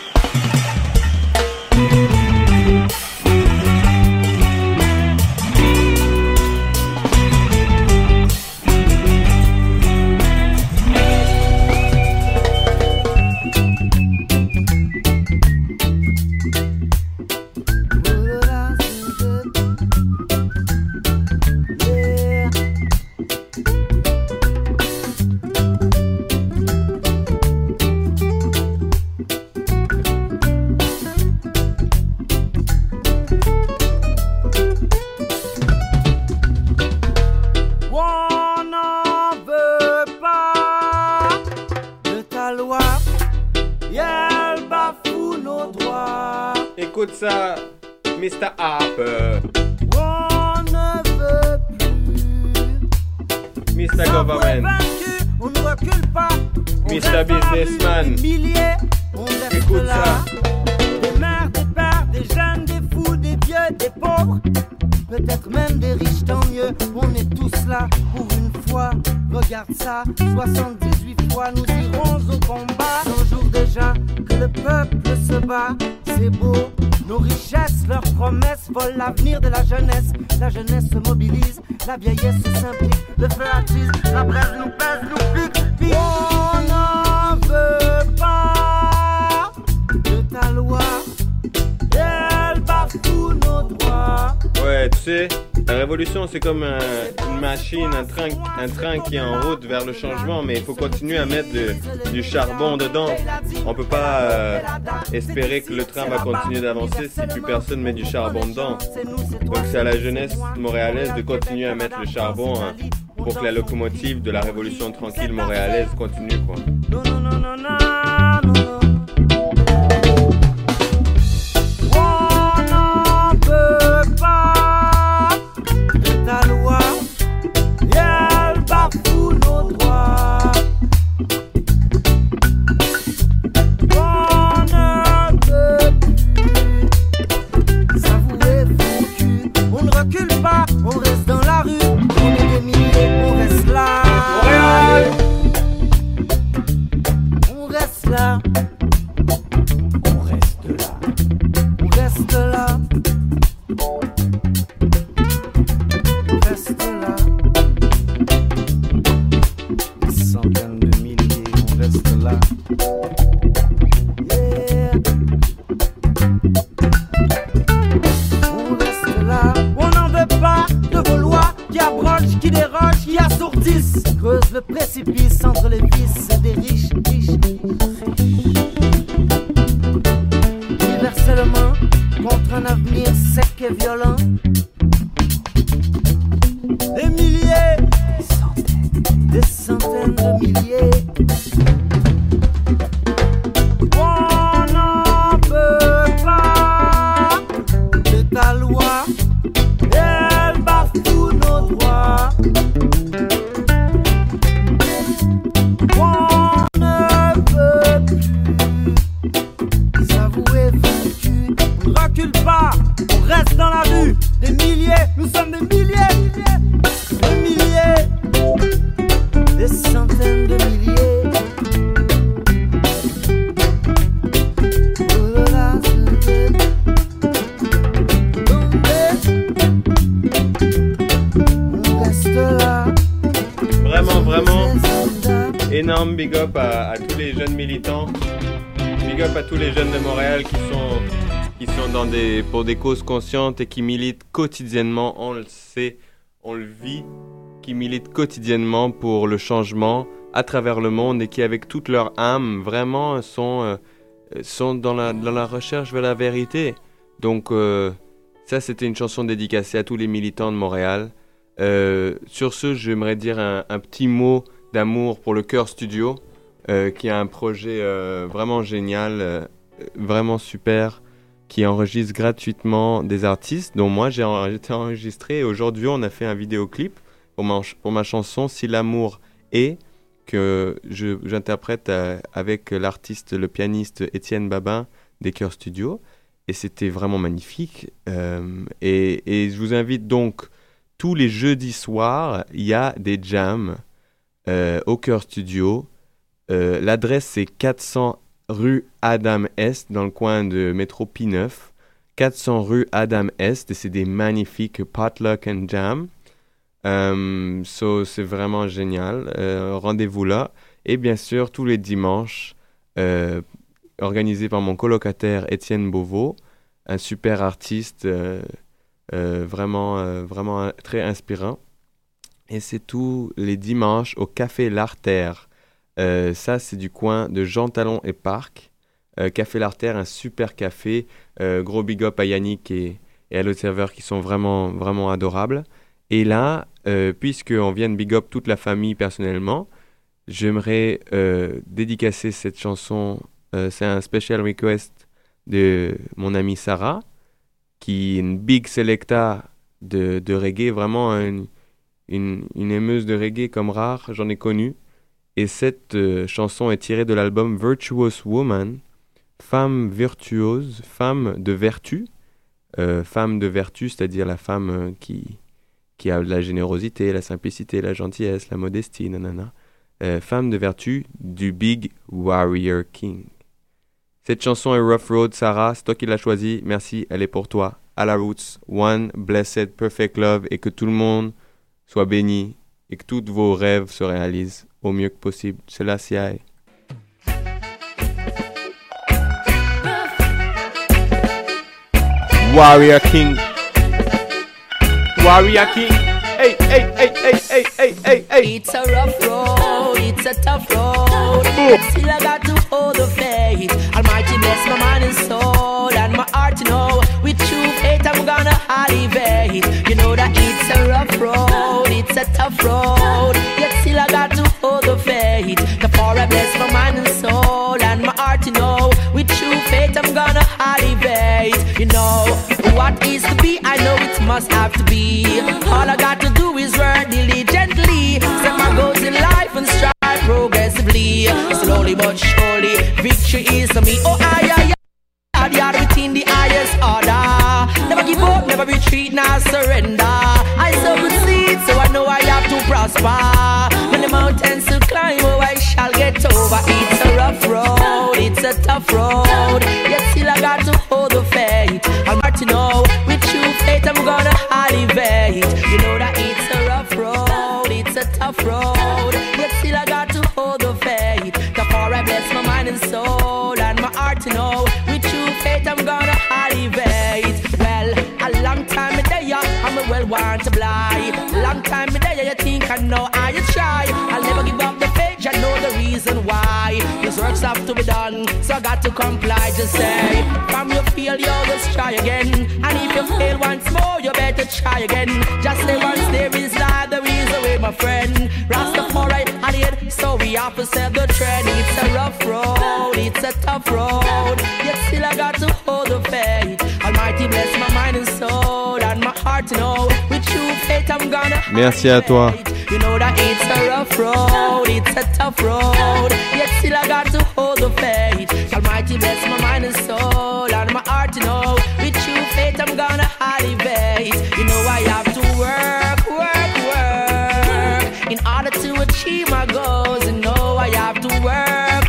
Écoute ça, Mr. Harper. On ne veut plus. Mr. Government. On ne recule pas. Mr. Businessman. Des milliers, on reste écoute là. Ça. Des mères, des pères, des jeunes, des fous, des vieux, des pauvres. Peut-être même des riches, tant mieux. On est tous là pour une fois. Regarde ça, 78 fois nous irons au combat. 100 jours déjà que le peuple se bat. C'est beau, nos richesses, leurs promesses volent l'avenir de la jeunesse. La jeunesse se mobilise, la vieillesse se s'implique. le feu attise, la braise nous pèse, nous pique, pique. On n'en veut pas de ta loi, elle bafoue nos droits. Ouais, tu sais, la révolution c'est comme une machine, un train qui est en route vers le changement, mais il faut continuer à mettre du charbon dedans. On peut pas espérer que le train va continuer d'avancer si plus personne met du charbon dedans. Donc c'est à la jeunesse montréalaise de continuer à mettre le charbon pour que la locomotive de la révolution tranquille montréalaise continue, quoi. Non, non, non, non, non, non, non. On n'en peut pas de ta loi, elle bafoue nos droits. On ne peut plus s'avouer foutu. On ne recule pas, on reste dans la rue. On est des milliers, on reste là. Montréal! On reste là. On reste là. On reste là. On reste là. Des centaines de milliers, on reste là. Yeah. On reste là. On n'en veut pas de vos lois qui abrogent, qui dérogent, qui assourdissent. Creusent le précipice entre les vices des riches, universellement contre un avenir sec et violent. Des milliers, des centaines de milliers. On n'en peut pas de ta loi, elle bafoue nos droits. On ne peut plus s'avouer foutu. On ne recule pas, on reste dans la rue. Des milliers, nous sommes des milliers, des milliers, des centaines de milliers. Oh là là, on reste là. Vraiment, énorme big up à tous les jeunes militants. Big up à tous les jeunes de Montréal qui sont pour des causes conscientes et qui militent quotidiennement, on le sait, on le vit, qui militent quotidiennement pour le changement à travers le monde et qui avec toute leur âme vraiment sont dans la recherche vers la vérité. Donc ça c'était une chanson dédicacée à tous les militants de Montréal. Sur ce, j'aimerais dire un petit mot d'amour pour le Chœur Studio, qui a un projet vraiment génial, vraiment super, qui enregistre gratuitement des artistes, dont moi j'ai été enregistré. Et aujourd'hui, on a fait un vidéoclip pour ma chanson « Si l'amour est », que j'interprète avec l'artiste, le pianiste Étienne Babin des Chœurs Studio. Et c'était vraiment magnifique. Et je vous invite donc, tous les jeudis soirs, il y a des jams au Chœur Studio. L'adresse, c'est 400 rue Adam Est, dans le coin de métro P9. 400 rue Adam Est, et c'est des magnifiques potluck and jam. C'est vraiment génial. Rendez-vous là. Et bien sûr, tous les dimanches, organisé par mon colocataire Étienne Beauvau, un super artiste, vraiment très inspirant. Et c'est tous les dimanches au Café L'Artère. Ça, c'est du coin de Jean Talon et Parc. Café L'Artère, un super café. Gros big up à Yannick et à l'autre serveur qui sont vraiment adorables. Et là, puisqu'on vient de big up toute la famille personnellement, j'aimerais dédicacer cette chanson. C'est un special request de mon amie Sarah, qui est une big selecta de reggae, vraiment une aimeuse de reggae comme rare, j'en ai connu. Et cette chanson est tirée de l'album Virtuous Woman, femme virtuose, femme de vertu. Femme de vertu, c'est-à-dire la femme qui a la générosité, la simplicité, la gentillesse, la modestie, nanana. Femme de vertu du Big Warrior King. Cette chanson est Rough Road, Sarah, c'est toi qui l'as choisie. Merci, elle est pour toi. À la Roots, One Blessed Perfect Love, et que tout le monde soit béni et que tous vos rêves se réalisent au mieux que possible. C'est la CIA. Warrior King. Warrior King. Hey, hey, hey, hey, hey, hey, hey, hey. It's a rough road, it's a tough road. Still I got to hold the faith. Almighty bless my mind and soul and my heart to know. With true faith I'm gonna elevate. You know that it's a rough road, it's a tough road. Yet still I got to hold the faith. Therefore I bless my mind and soul and my heart to know. With true faith I'm gonna elevate. You know what is to be, I know it must have to be. All I got to do is work diligently. Set my goals in life and strive progressively. Slowly but surely, victory is to me. Oh, I yard within the highest order. Never give up, never retreat, nor surrender. I sow good seed, so I know I have to prosper. When the mountains to climb, oh, I shall get over. It's a rough road, it's a tough road. Yet still I got to hold the faith. I'm hard to know, with true faith I'm gonna elevate. You know that it's a rough road, it's a tough road. Yet still I got to hold the faith. Therefore I bless my mind and soul and my heart to know. With true faith I'm gonna elevate. Well, a long time a day, I'm a well want to blind. Long time a day, you think I know I try. I'll never give up the faith, I know the reason why. This works have to be done, so I got to comply. Just say, from your failure, just try again. And if you fail once more, you better try again. Just say once there is life, there is a way, my friend. Rastafari, I did, so we have to set the trend. It's a rough road, it's a tough road. Yet still I got to hold the faith. Almighty bless my mind and soul and my heart to know. With true faith I'm gonna. Merci à toi. You know that it's a rough road, it's a tough road. Yet still I got to hold the faith. Almighty bless my mind and soul and my heart to know. With true faith I'm gonna elevate. You know I have to work in order to achieve my goals. You know I have to work.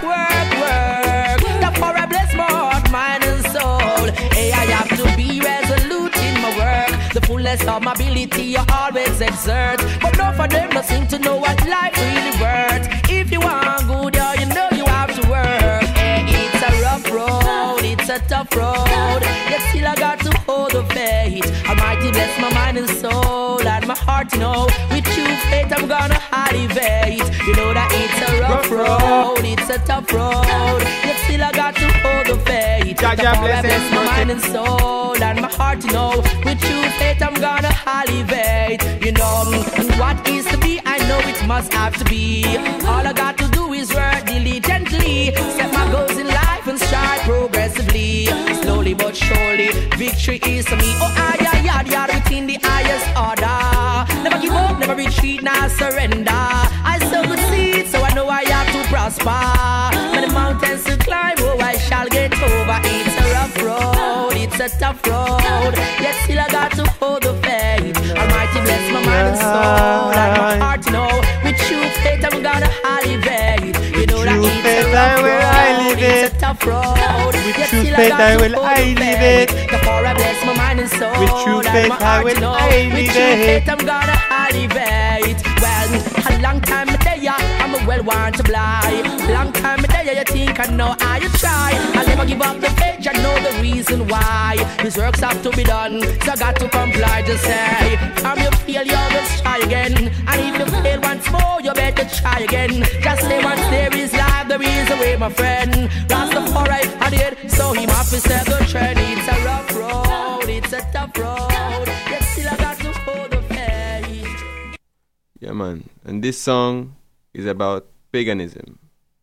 Therefore I bless my heart, mind and soul. Hey, I have to be resolute in my work. The fullness of my ability you always exert. But none for them don't seem to know what life really worth. If you want good, yeah, you know you have to work. Hey, it's a rough road, it's a tough road. Yet still I got to hold the faith. Almighty bless my mind and soul and my heart to know. With true faith I'm gonna elevate. You know that it's a rough road, it's a tough road. Yet still I got to hold the faith. Therefore I bless my mind and soul and my heart to know. With true faith I'm gonna elevate. You know what is to be, I know it must have to be. All I got to do is work diligently. Set my goals in life and strive progressively. Slowly but surely, victory is to me. Oh, yard within the highest order. Never give up, never retreat, nor surrender. I sow good seed, so I know I have to prosper. When the mountains to climb, oh, I shall get over. It's a rough road, it's a tough road. Yet still I got to hold the faith. Almighty bless my mind and soul and my heart to know. With true faith I'm gonna elevate. You know that it's a rough road, it's a tough road. Yet still I got to hold the faith. Therefore I bless my mind and soul. With true faith I will elevate. With true faith I'm gonna elevate. Well, a long time a day, I'm a well want to blind. Long time a day, you think I know how you try. I'll never give up the faith, I know the reason why. These works have to be done, so I got to comply. Just say, from your failure, let's try again. And if you fail once more, you better try again. Just say once there is life, there is a way, my friend. Rastafari, I did, so he must be set the trend. It's a rough road, it's a tough road. Yet still I got to hold the faith. Yeah, man. And this song is about paganism.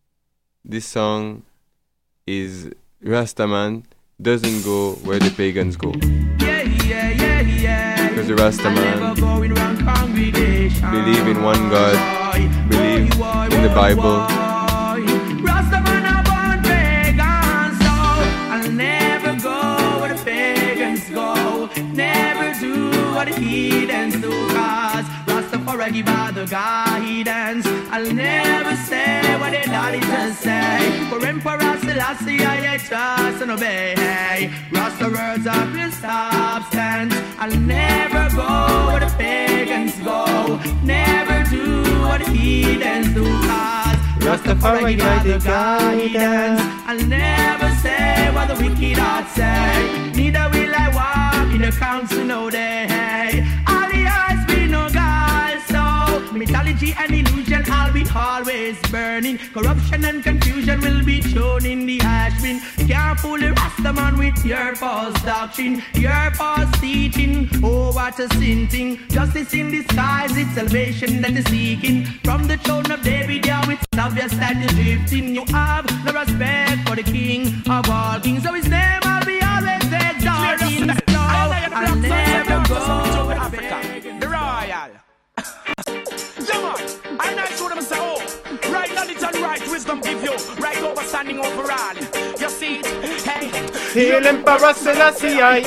This song is Rastaman doesn't go where the pagans go. Because the Rastaman believe in one God, believe in the Bible. Rastaman are born pagans, so I'll never go where the pagans go. Never do what the heathens do, cause Rastafari reggae by the guidance. I'll never say what they daddy just say. For Emperor Selassie I trust and obey. Hey, Rasta words of his substance. I'll never go where the pagans go. Never do what the heathens do. Cause Rastafari by the guidance. I'll never say what the wicked heart say. Neither will I walk in the council no day. All the eyes be no God. So mythology and illusion I'll be always burning. Corruption and confusion will be shown in the ash bin. Can't fool the Rastaman with your false doctrine, your false teaching. Oh, what a sin thing. Justice in disguise, it's salvation that is seeking. From the throne of David, yeah, it's obvious that you're drifting. You have no respect for the king of all kings. So his name I'll be always exalting. No, I'll never go to Africa. The Royal. Yeah, man. I know I told them, say, oh, right knowledge and right wisdom give you right overstanding overall. You see it? Hey. Hail Emperor Selassie I.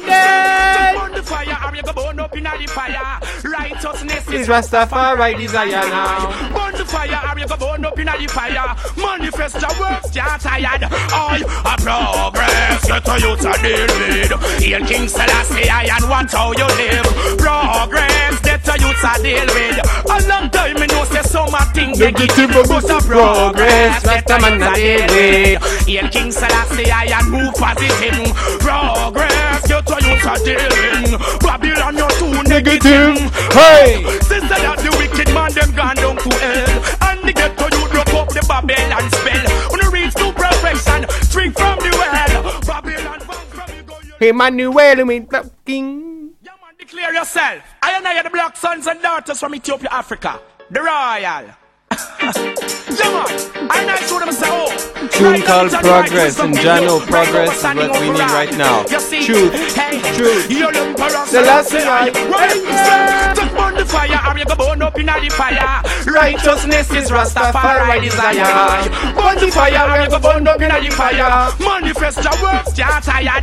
Just burn the fire, or you go burn up in the fire. Righteousness is Rastafari desire now. Burn the fire, or you go burn up in the fire. Manifest your works, you're tired. I progress, get to you to deal with. Hail King Selassie I and watch how you live. Progress, get to you to deal with. A long time me know say some things negative, but a progress, Rastaman a deal with. Hail King Selassie I and move positive. Progress, get to you to deal with. Babylon you're too negative. Hey! Sister that the wicked man them gone down to hell. And they get to you drop up the Babylon spell. When you reach to perfection, drink from the well. Babylon from you go. Emmanuel, me king. Yeah man, declare yourself. I and I are the black sons and daughters from Ethiopia, Africa. The Royal. Yeah man, I know I told them say oh. Tune called Progress, and Jano, progress is what we need right now. Truth, truth. Selassie I. Just burn the fire, or you go burn up in the fire. Righteousness is Rastafari desire. Burn the fire, or you go burn up in the fire. Manifest your works, you're tired.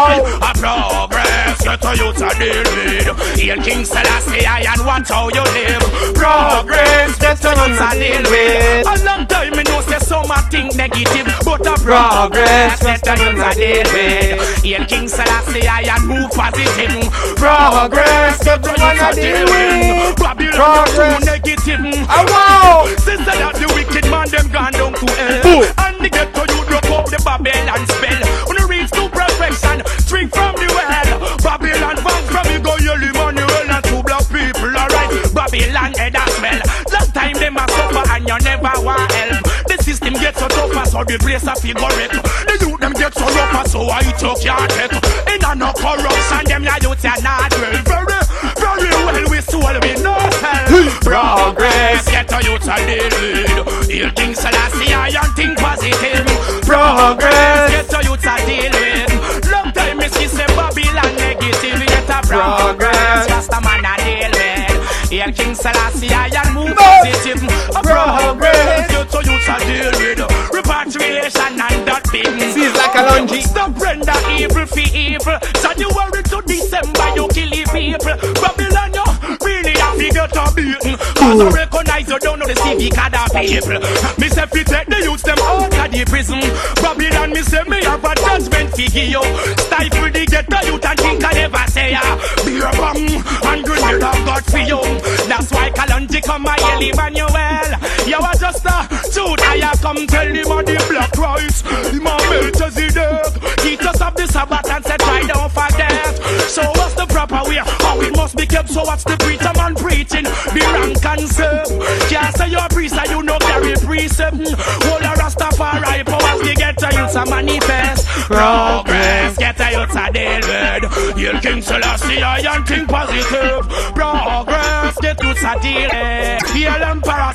A progress, get to you to deal with. Hail King Selassie I and watch how you live. Progress, get to you to deal with. A long time me know say some think negative, but a progress, get to you to deal with. Hail King Selassie I and move positive. Progress, get to you to deal with. Babylon too negative. Oh wow! Since that the wicked man them gone down to hell. And they get to you drop up the Babylon spell. When you reach to perfection, drink from the well. Babylon bound from you go you live on the well. And two black people alright. Babylon head as well. Last time them a suffer and you never want help. The system gets so tougher so the place a figure it. The youth them get so rougher so I took can't take. In a no corruption them ya youth ya not well. Very well we soul we no hell. Progress get to you to deal with. Hail King Selassie I and think positive. Progress get to you to deal with. Long time me see say Babylon negative. Get a progress just a man a deal with. Hail King Selassie I and move positive. Progress get to you to deal with. Repatriation and that thing. Seems like a lungy. Stop render evil for evil. January to December you kill the people. Babylon you really have to get a beaten. Cause I recognize you don't know the civic of the people. Me say fi take the youths them out of the prison. Babylon me say me have a judgment figure you. Stifle the ghetto youth and think I never say ya. Beer bomb and grenade of God for you. That's why Kalonji come my Eli Manuel. You are just a truth I come tell him on the black rights. Him a Melchizedek. Teach us of the Sabbath and say try don't forget. So what's the proper way? How it must be kept. So what's the preacher man preaching? The rank and serve. Can't say you're a priest and you know carry precept. Hold a Rastafari powers we get to you to manifest. Progress get to you to deal with. Hail King Selassie I and think positive. Progress get you to deal with. Hail Emperor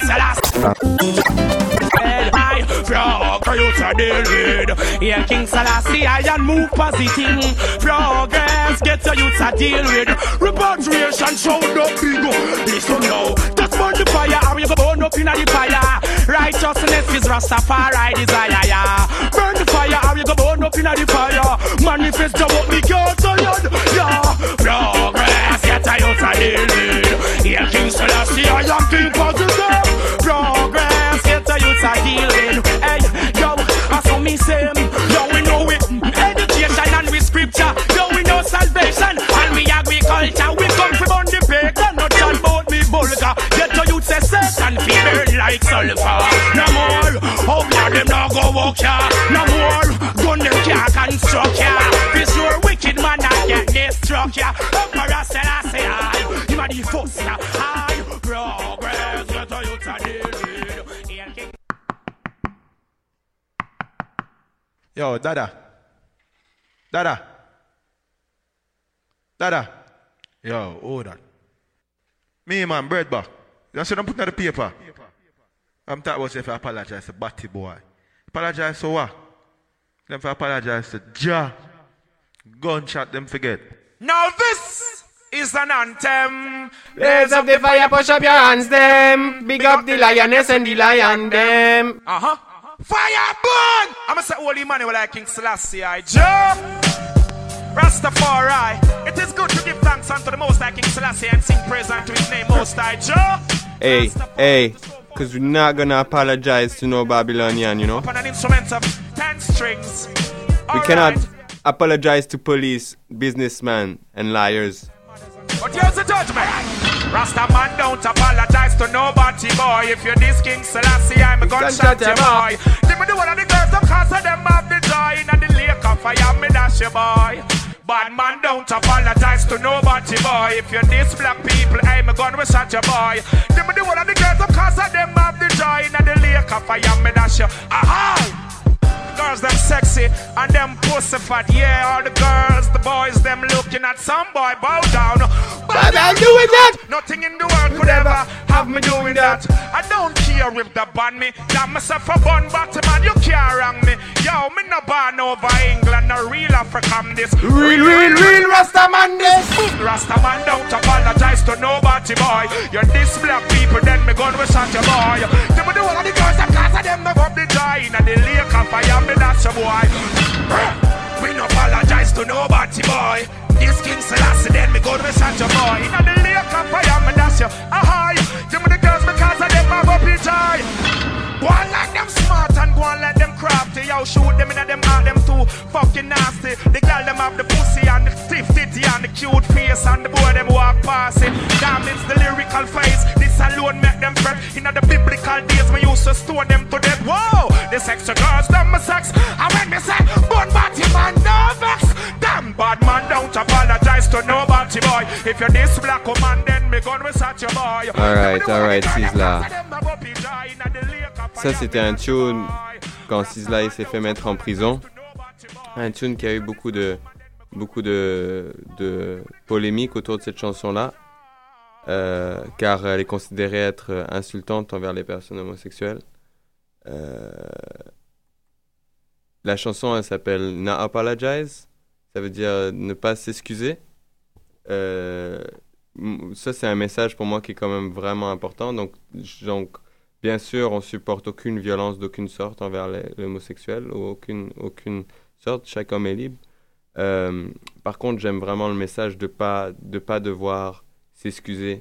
Selassie I progress to deal with. Hail King Selassie I and move positive. Progress get to you to deal with. Repatriation show the big. Listen now, just burn the fire or you go burn up in the fire. Righteousness is Rastafari desire. Burn the fire or you go burn up in the fire. Manifest your what me can't tired. Yeah, progress get to you to deal with. Hail King King Selassie, I am King Positive. Progress, get the youths are dealing. Hey, yo, I saw me say, yo, we know it. Education and with scripture, yo, we know salvation. And we agriculture, we come from on the pagan. Not John about me vulgar. Get the youths say Satan, feel burn like sulfur. No more, oh yeah, them now go walk ya. No more, gun them can't construct ya. This your wicked man that get destruct ya. Emperor Selassie, you are the first ya. High progress, get the youths are dealing. Yo, Dada. Yo, hold on. Me, man, bread back. You see them putting on the paper. I'm talking about if I apologize to Batty boy. Apologize to what? Them for apologize to Ja. Gunshot them forget. Now this is an anthem. Blaze up the fire, push up your hands, them. Big up the lioness and the lion, them. Fire burn! I'ma say holy man like King Selassie, Ja. Rastafari. It is good to give thanks unto the Most High King Selassie and sing praise unto his name, Most High, Ja. Hey, because we're not gonna apologize to no Babylonian, you know? On an instrument of 10 strings. We cannot apologize to police, businessmen, and liars. But here's the judgment. Rasta man don't apologize to nobody, boy. If you're this King Selassie, I'm a gunshot you, boy. Give me the one of the girls, of course, of them have the joy. In the lake of fire, me dash you, boy. Bad man don't apologize to nobody, boy. If you're this black people, I'm a gun with shot you, boy. Give me the one of the girls, of course, of them have the joy. In the lake of fire, me dash you. Aha! Girls them sexy and them pussy fat. Yeah, all the girls, the boys, them looking at some boy bow down. But I'm doing that. Nothing in the world could ever have me doing that. I don't care if they ban me. Damn myself a bun bottom man, you can't wrong me. Yo, me no born over England, no real African this. Real Rastaman this. Rastaman don't apologize to nobody, boy. You're this black people, then me gun with shot your boy. Them do all of the girls that cause of them never up the joy. And the lake of fire. That's a boy. We no apologize to nobody, boy. This King Selassie, then me go to such a boy. In the lake of fire, me dash you. Aha, give me the girls because of them have up the joy. Go on like them smart and go on like them crafty. Yo, shoot them in them heart, them too fucking nasty. The girl them have the pussy and the stiff titty and the cute face and the boy them walk past it. Damn, it's the lyrical face. This alone make them fret. In the biblical days, me used to stone them to death. Whoa, the sexy girls, them my sex. And when me say, bun batty man, no vex. Damn, bad man, don't apologize to nobody, boy. If you're this black woman, then me gun with such a boy. Alright, Sizzla. Ça, c'était un tune quand Sizzla il s'est fait mettre en prison. Un tune qui a eu beaucoup de polémiques autour de cette chanson-là. Car elle est considérée être insultante envers les personnes homosexuelles. La chanson, elle s'appelle Not Apologize. Ça veut dire ne pas s'excuser. Ça, c'est un message pour moi qui est quand même vraiment important. Donc bien sûr, on supporte aucune violence d'aucune sorte envers les homosexuels, ou aucune sorte. Chaque homme est libre. Par contre, j'aime vraiment le message de pas devoir s'excuser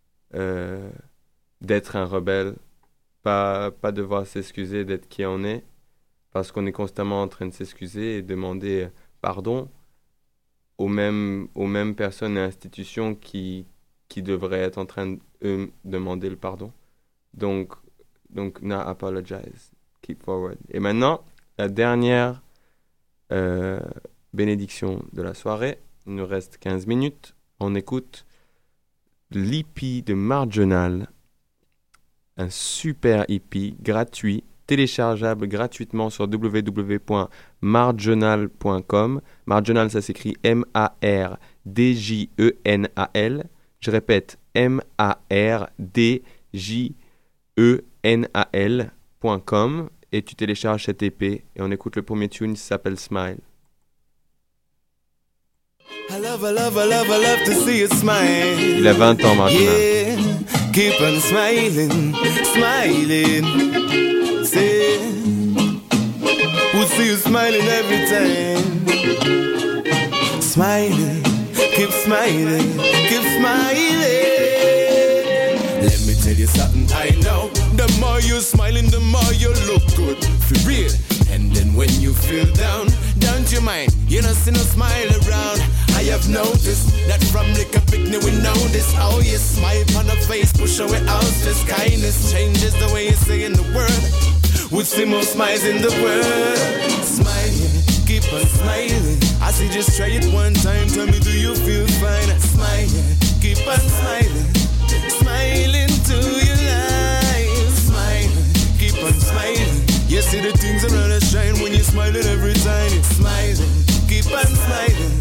d'être un rebelle, pas devoir s'excuser d'être qui on est, parce qu'on est constamment en train de s'excuser et demander pardon aux mêmes personnes et institutions qui devraient être en train de demander le pardon. Donc not apologize, keep forward. Et maintenant, la dernière bénédiction de la soirée. Il nous reste 15 minutes. On écoute l'EP de Marginal, un super EP gratuit, téléchargeable gratuitement sur www.marginal.com. Marginal, ça s'écrit MARDJENAL. Je répète, MARDJENAL.com, et tu télécharges cette EP et on écoute le premier tune qui s'appelle Smile. I love to see you smile. Il a 20 ans, Marginal. Yeah, keep on smiling. Say, we'll see you smiling every time. Smiling, keep smiling. tell you something I know. The more you smiling, the more you look good. For real. And then when you feel down, don't you mind? You know, see no smile around. I have noticed that from like a picnic we know this. Oh, you smile on the face, push away out. Just kindness changes the way you say in the word. With the most smiles in the world. Smile, keep on smiling. I say just try it one time. Tell me, do you feel fine? Smile, keep on smiling. Smiling to your life. Smile, keep on smiling. You see the things around us shine when you're smiling every time. Smiling, keep on smiling.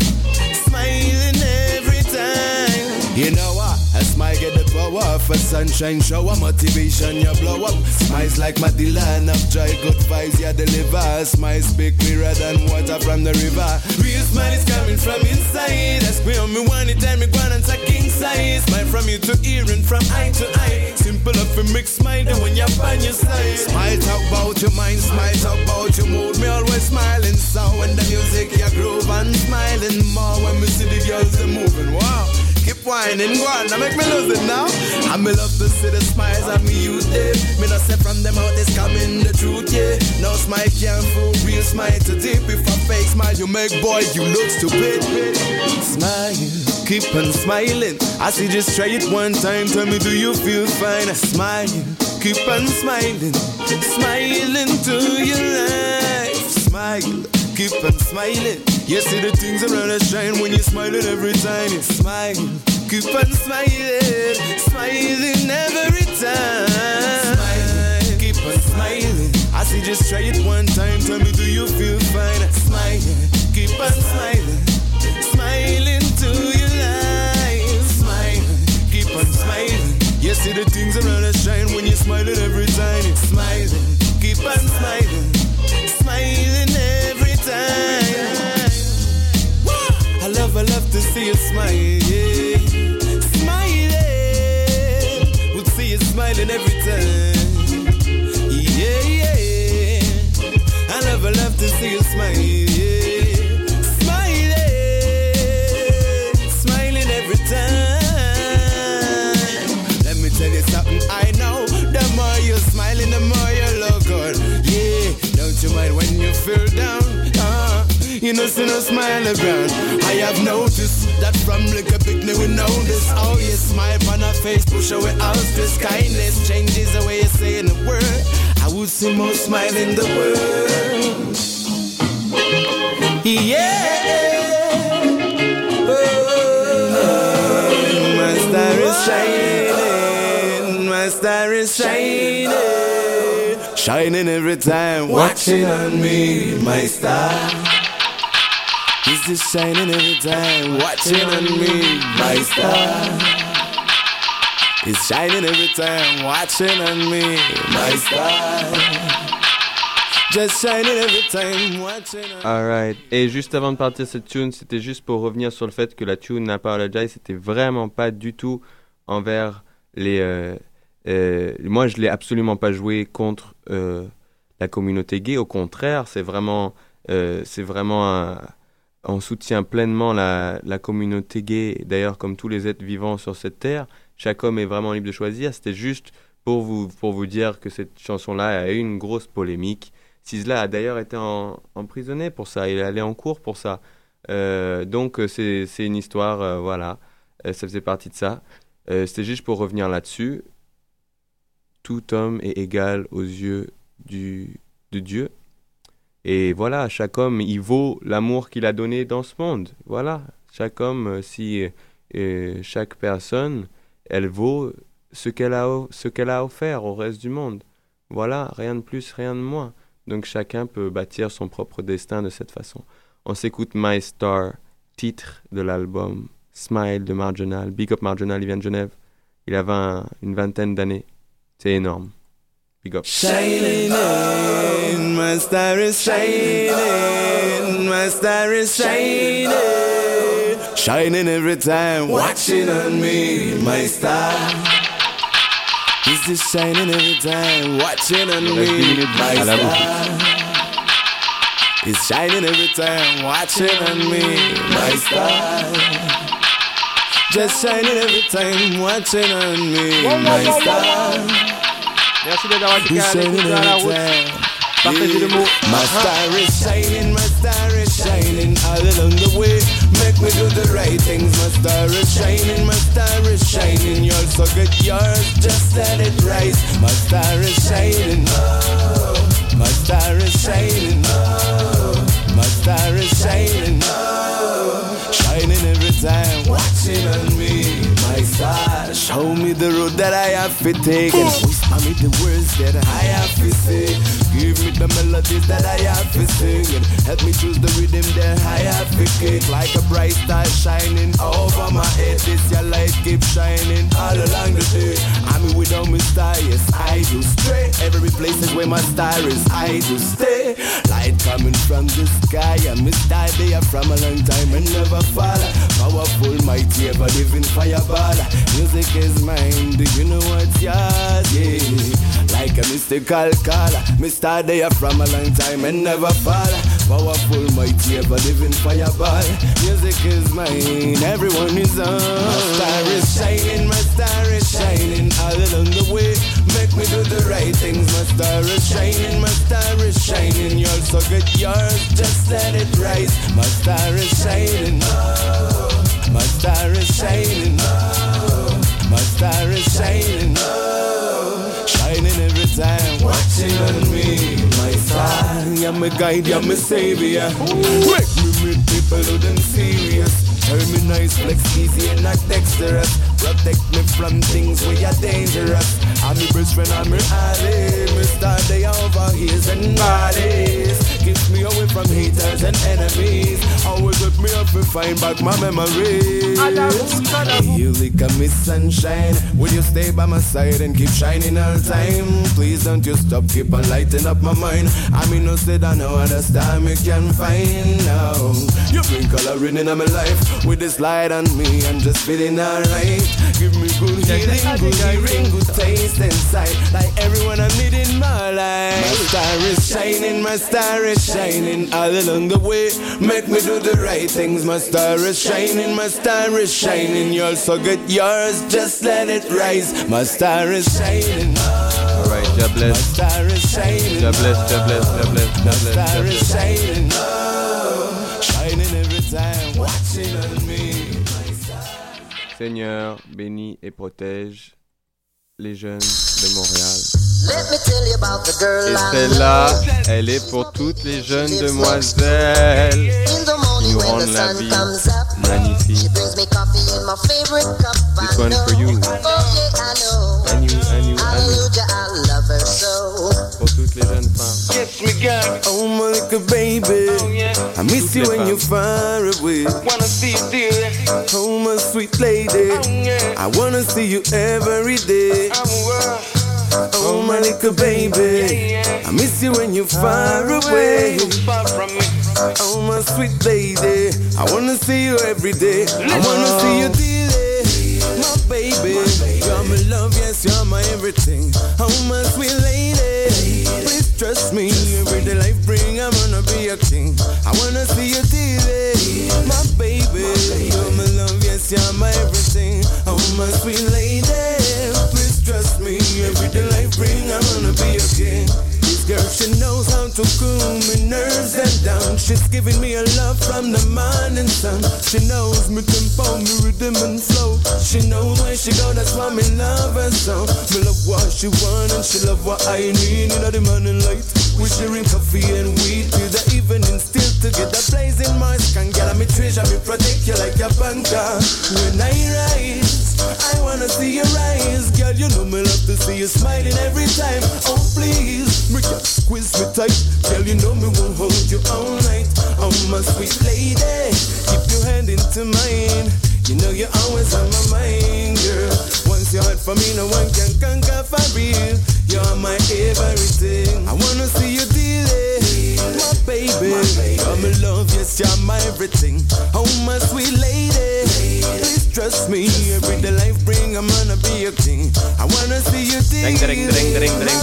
Smiling every time. You know what? A smile get the power of a sunshine shower. Motivation you blow up. Smiles like Matilda of joy. Good vibes you deliver. Smiles speak clearer than water from the river. Real smile is coming from inside. Ask me how me want it and me go on and say king size. Smile from ear to ear and from eye to eye. Simple up for mix smile and when you're on your side. Smile talk about your mind. Smile talk about your mood. Me always smiling. So when the music you groove and smiling more. When me see the girls they moving. Wow. Keep whining, go on, now make me lose it now. I me love to see the smiles of me youth, Dave. Me not say from them out, this coming the truth, yeah. No smile can't fool, real smile to deep. If a fake smile you make, boy, you look stupid. Smile, keep on smiling. I say just try it one time, tell me do you feel fine? Smile, keep on smiling. Smiling to your life. Smile, keep on smiling. You see the things around us shine when you're smiling every time. You smile, keep on smiling. Smiling every time. Smile, keep on smiling. I say just try it one time. Tell me, do you feel fine? Smile, keep on smiling. Smiling to your life. Smile, keep on smiling. You see the things around us shine when you're smiling every time. You smiling, keep on smiling. Smiling every time. I love to see you smile, yeah. Smiling, would see you smiling every time. Yeah, yeah. I love to see you smile, yeah. Smiling, smiling every time. Let me tell you something I know. The more you're smiling, the more you look good. Yeah, don't you mind when you feel down? You know, see no smile around. I have noticed that from like a picnic we know this. Oh, you smile on her face, push away all stress. Kindness changes the way you say in the word. I would see more smile in the world. Yeah. Oh, my star is shining. My star is shining. Shining every time, watching on me, my star. Is this shining every time, watching on me, my star. It's shining every time, watching on me, my star. Just shining every time, watching on me. Alright, et juste avant de partir cette tune, c'était juste pour revenir sur le fait que la tune Apologize, c'était vraiment pas du tout envers les... moi, je l'ai absolument pas joué contre la communauté gay. Au contraire, c'est vraiment on soutient pleinement la communauté gay. D'ailleurs, comme tous les êtres vivants sur cette terre, chaque homme est vraiment libre de choisir. C'était juste pour vous dire que cette chanson-là a eu une grosse polémique. Sizzla a d'ailleurs été emprisonné pour ça. Il est allé en cours pour ça. Donc, c'est une histoire, voilà. Ça faisait partie de ça. C'était juste pour revenir là-dessus. Tout homme est égal aux yeux de Dieu. Et voilà, chaque homme, il vaut l'amour qu'il a donné dans ce monde. Voilà, chaque homme, chaque personne, elle vaut ce qu'elle a offert au reste du monde. Voilà, rien de plus, rien de moins. Donc chacun peut bâtir son propre destin de cette façon. On s'écoute My Star, titre de l'album Smile de Marginal. Big up Marginal, il vient de Genève. Il avait une vingtaine d'années. C'est énorme. Big up. Shining in, my star is shining, my star is shining, shining every time, watching on me, my star. Is this shining every time, watching on me, my star. It's shining every time, watching on me, my star. just shining every time, watching on me, my star. Merci d'être à la route. Partagez le mot. My star is shining, my star is shining all along the way. Make me do the right things. My star is shining, my star is shining. You're so good, yours, just let it rise. My star is shining, oh. My star is shining, oh. My star is shining, oh. Shining every time, watching on me. My star, show me the road that I have to take, and whisper me the words that I have to say. Give me the melodies that I have to sing, and help me choose the rhythm that I have to kick. Like a bright star shining over my head, this your light keep shining all along the day. I'm without my star, yes I do stray. Every place is where my star is, I do stay. Light coming from the sky, I'm a star there from a long time and never fall. Powerful, mighty, ever living fireball. Music is mine, do you know what's yours? Yeah, like a mystical caller. Star there from a long time and never fall. Powerful, mighty, ever living fireball. Music is mine, everyone is on. My star is shining, my star is shining all along the way. Make me do the right things. My star is shining, my star is shining. You're so good, yours, just let it rise. My star is shining, oh. My star is shining, oh. My star is shining, oh. Shining every time, watching on me. My star, you're my guide, you're my savior. Make me meet people who them serious. Turn me nice, flex easy and not dexterous. Protect me from things where you're dangerous. I'm your best friend, I'm your ally. Me star they over heels and bodies. Keeps me away from haters and enemies. Always with me up and find back my memories. You lick a miss sunshine. Will you stay by my side and keep shining all time? Please don't you stop, keep on lighting up my mind. I mean no said I know other star me can find now. You bring coloring in my life. With this light on me, I'm just feeling alright. Give me good healing, good hearing, good taste inside. Like everyone I need in my life. My star is shining, my star is shining all along the way. Make me do the right things. My star is shining, my star is shining. You're so good, yours, just let it rise. My star is shining. Alright, God bless. My star is shining. God bless, God bless, God bless, God bless. My star is shining. Shining every time, watching on me. Seigneur, bénis et protège les jeunes de Montréal. Et celle-là, elle est pour toutes les jeunes demoiselles qui nous rendent la vie magnifique. This one for you. And you. Pour toutes les jeunes femmes. Oh my little baby, I miss you when you're far away. Wanna see you, dear. Oh my sweet lady, I wanna see you every day. Oh my little baby, I miss you when you're far away. Oh my sweet lady, I wanna see you every day. I wanna see you daily, my baby. You're my love, yes, you're my everything. Oh my sweet lady, please trust me. Every day life bring, I'm gonna be a king. I wanna see you daily, my baby. You're my love, yes, you're my everything. Oh my sweet lady, please trust me. Every day life bring, I'm gonna be a king. This girl, she knows how to cool my nerves and down. She's giving me a love from the morning sun. She knows me tempo, me rhythm and flow. She knows where she go, that's why me love her so. Me love what she want and she love what I need. You know the morning light, we sharing coffee and weed till the evening still together, blazing my skin. Girl, me treasure, me protect you like a banker. When I rise, I wanna see your eyes. Girl, you know me love to see you smiling every time. Oh please, me can squeeze me tight. Girl, you know me won't hold you all night. Oh my sweet lady, keep your hand into mine. You know you're always on my mind, girl. Once you're hot for me, no one can conquer for real. You're my everything. I wanna see you daily, my baby. You're my love, yes, you're my everything. Oh my sweet lady, please trust me. Every day life bring, I'm gonna be a king. I wanna see you daily,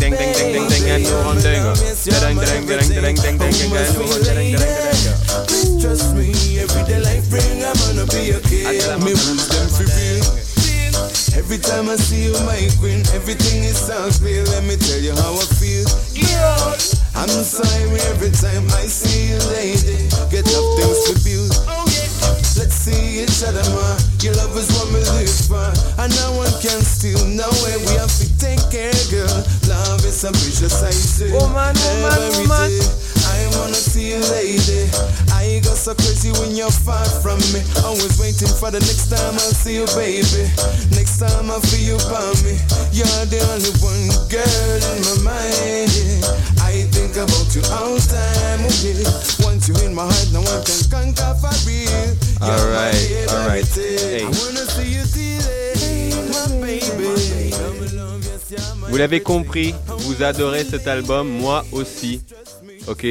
my baby. trust me, everyday life bring, I'm gonna be okay. Me rules them for real. Every time I see you, my queen, everything is so clear. Let me tell you how I feel. Yeah. I'm sorry every time I see you, lady. Get up things to build. Let's see each other more. Your love is what me live for, and no one can steal. No way, we have to take care, girl. Love is a precious I say. Woman. I wanna see you, lady. I go so crazy when you're far from me. Always waiting for the next time I'll see you, baby. Next time I'll feel you by me. You're the only one girl in my mind. Yeah. I think about you all the time. Okay. Once you in my heart, no one can conquer for real. Alright. Hey. I wanna see you today, my baby. Vous l'avez compris, vous adorez cet album, moi aussi. Ok,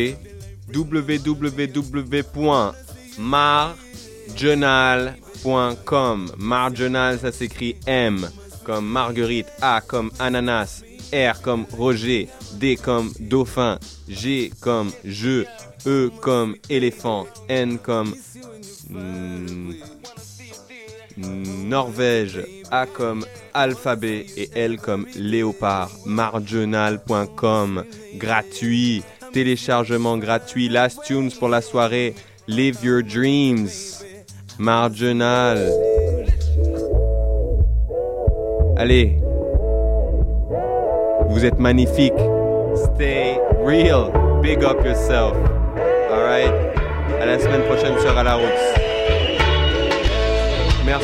www.marjournal.com. Marjournal, ça s'écrit M comme Marguerite, A comme ananas, R comme Roger, D comme dauphin, G comme jeu, E comme éléphant, N comme Norvège, A comme alphabet et L comme léopard. Marjournal.com, gratuit. Téléchargement gratuit, Last Tunes pour la soirée, Live Your Dreams, Marjournal. Allez, vous êtes magnifique. Stay real, big up yourself. Alright, à la semaine prochaine sur À la Route. Merci.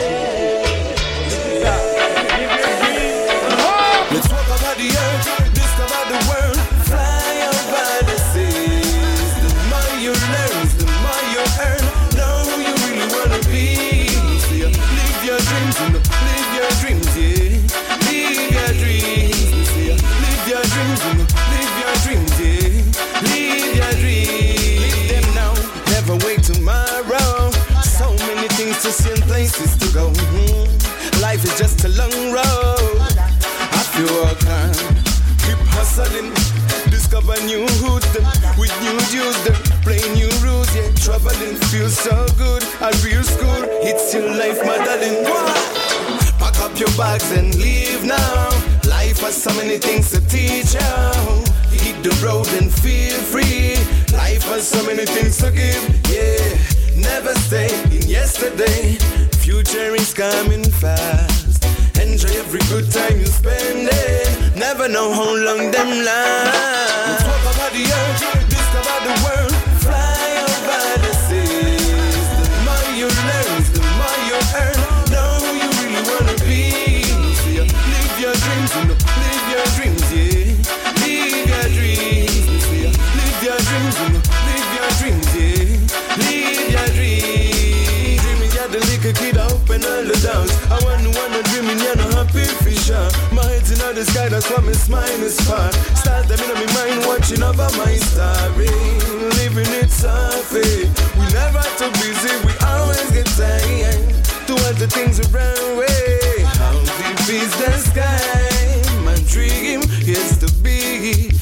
Let's walk about the earth, discover the world, fly over the seas. The more you learn, the more you earn. Know who you really wanna be. So you live your dreams, live your dreams, yeah. Live your dreams, so you live your dreams, live your dreams, yeah. Live your dreams, live them now, never wait tomorrow. So many things to see and places to go. Life is just a long road. You work hard, keep hustling, discover new hoods, with new dudes, play new rules, yeah. Traveling feels so good, at real school, it's your life, my darling. Pack up your bags and leave now. Life has so many things to teach you. Hit the road and feel free. Life has so many things to give, yeah. Never stay in yesterday. Future is coming fast. Enjoy every good time you spend it. Never know how long them last. Talk about the earth, discover the world, fly over the seas. The more you learn, the more you earn. Know who you really wanna be. So you live your dreams, live your dreams, yeah. Live your dreams, so you live your dreams, live your dreams, yeah. Live your dreams. Dreaming you're the little kid, open all the doors. I wanna dreaming you're no happy fisher. My head's in the sky, that's why my smile is far. Start them in my mind, watching over my story. Living it softly. We never too busy, we always get tired. Do all the things around way. How deep is the sky? My dream is to be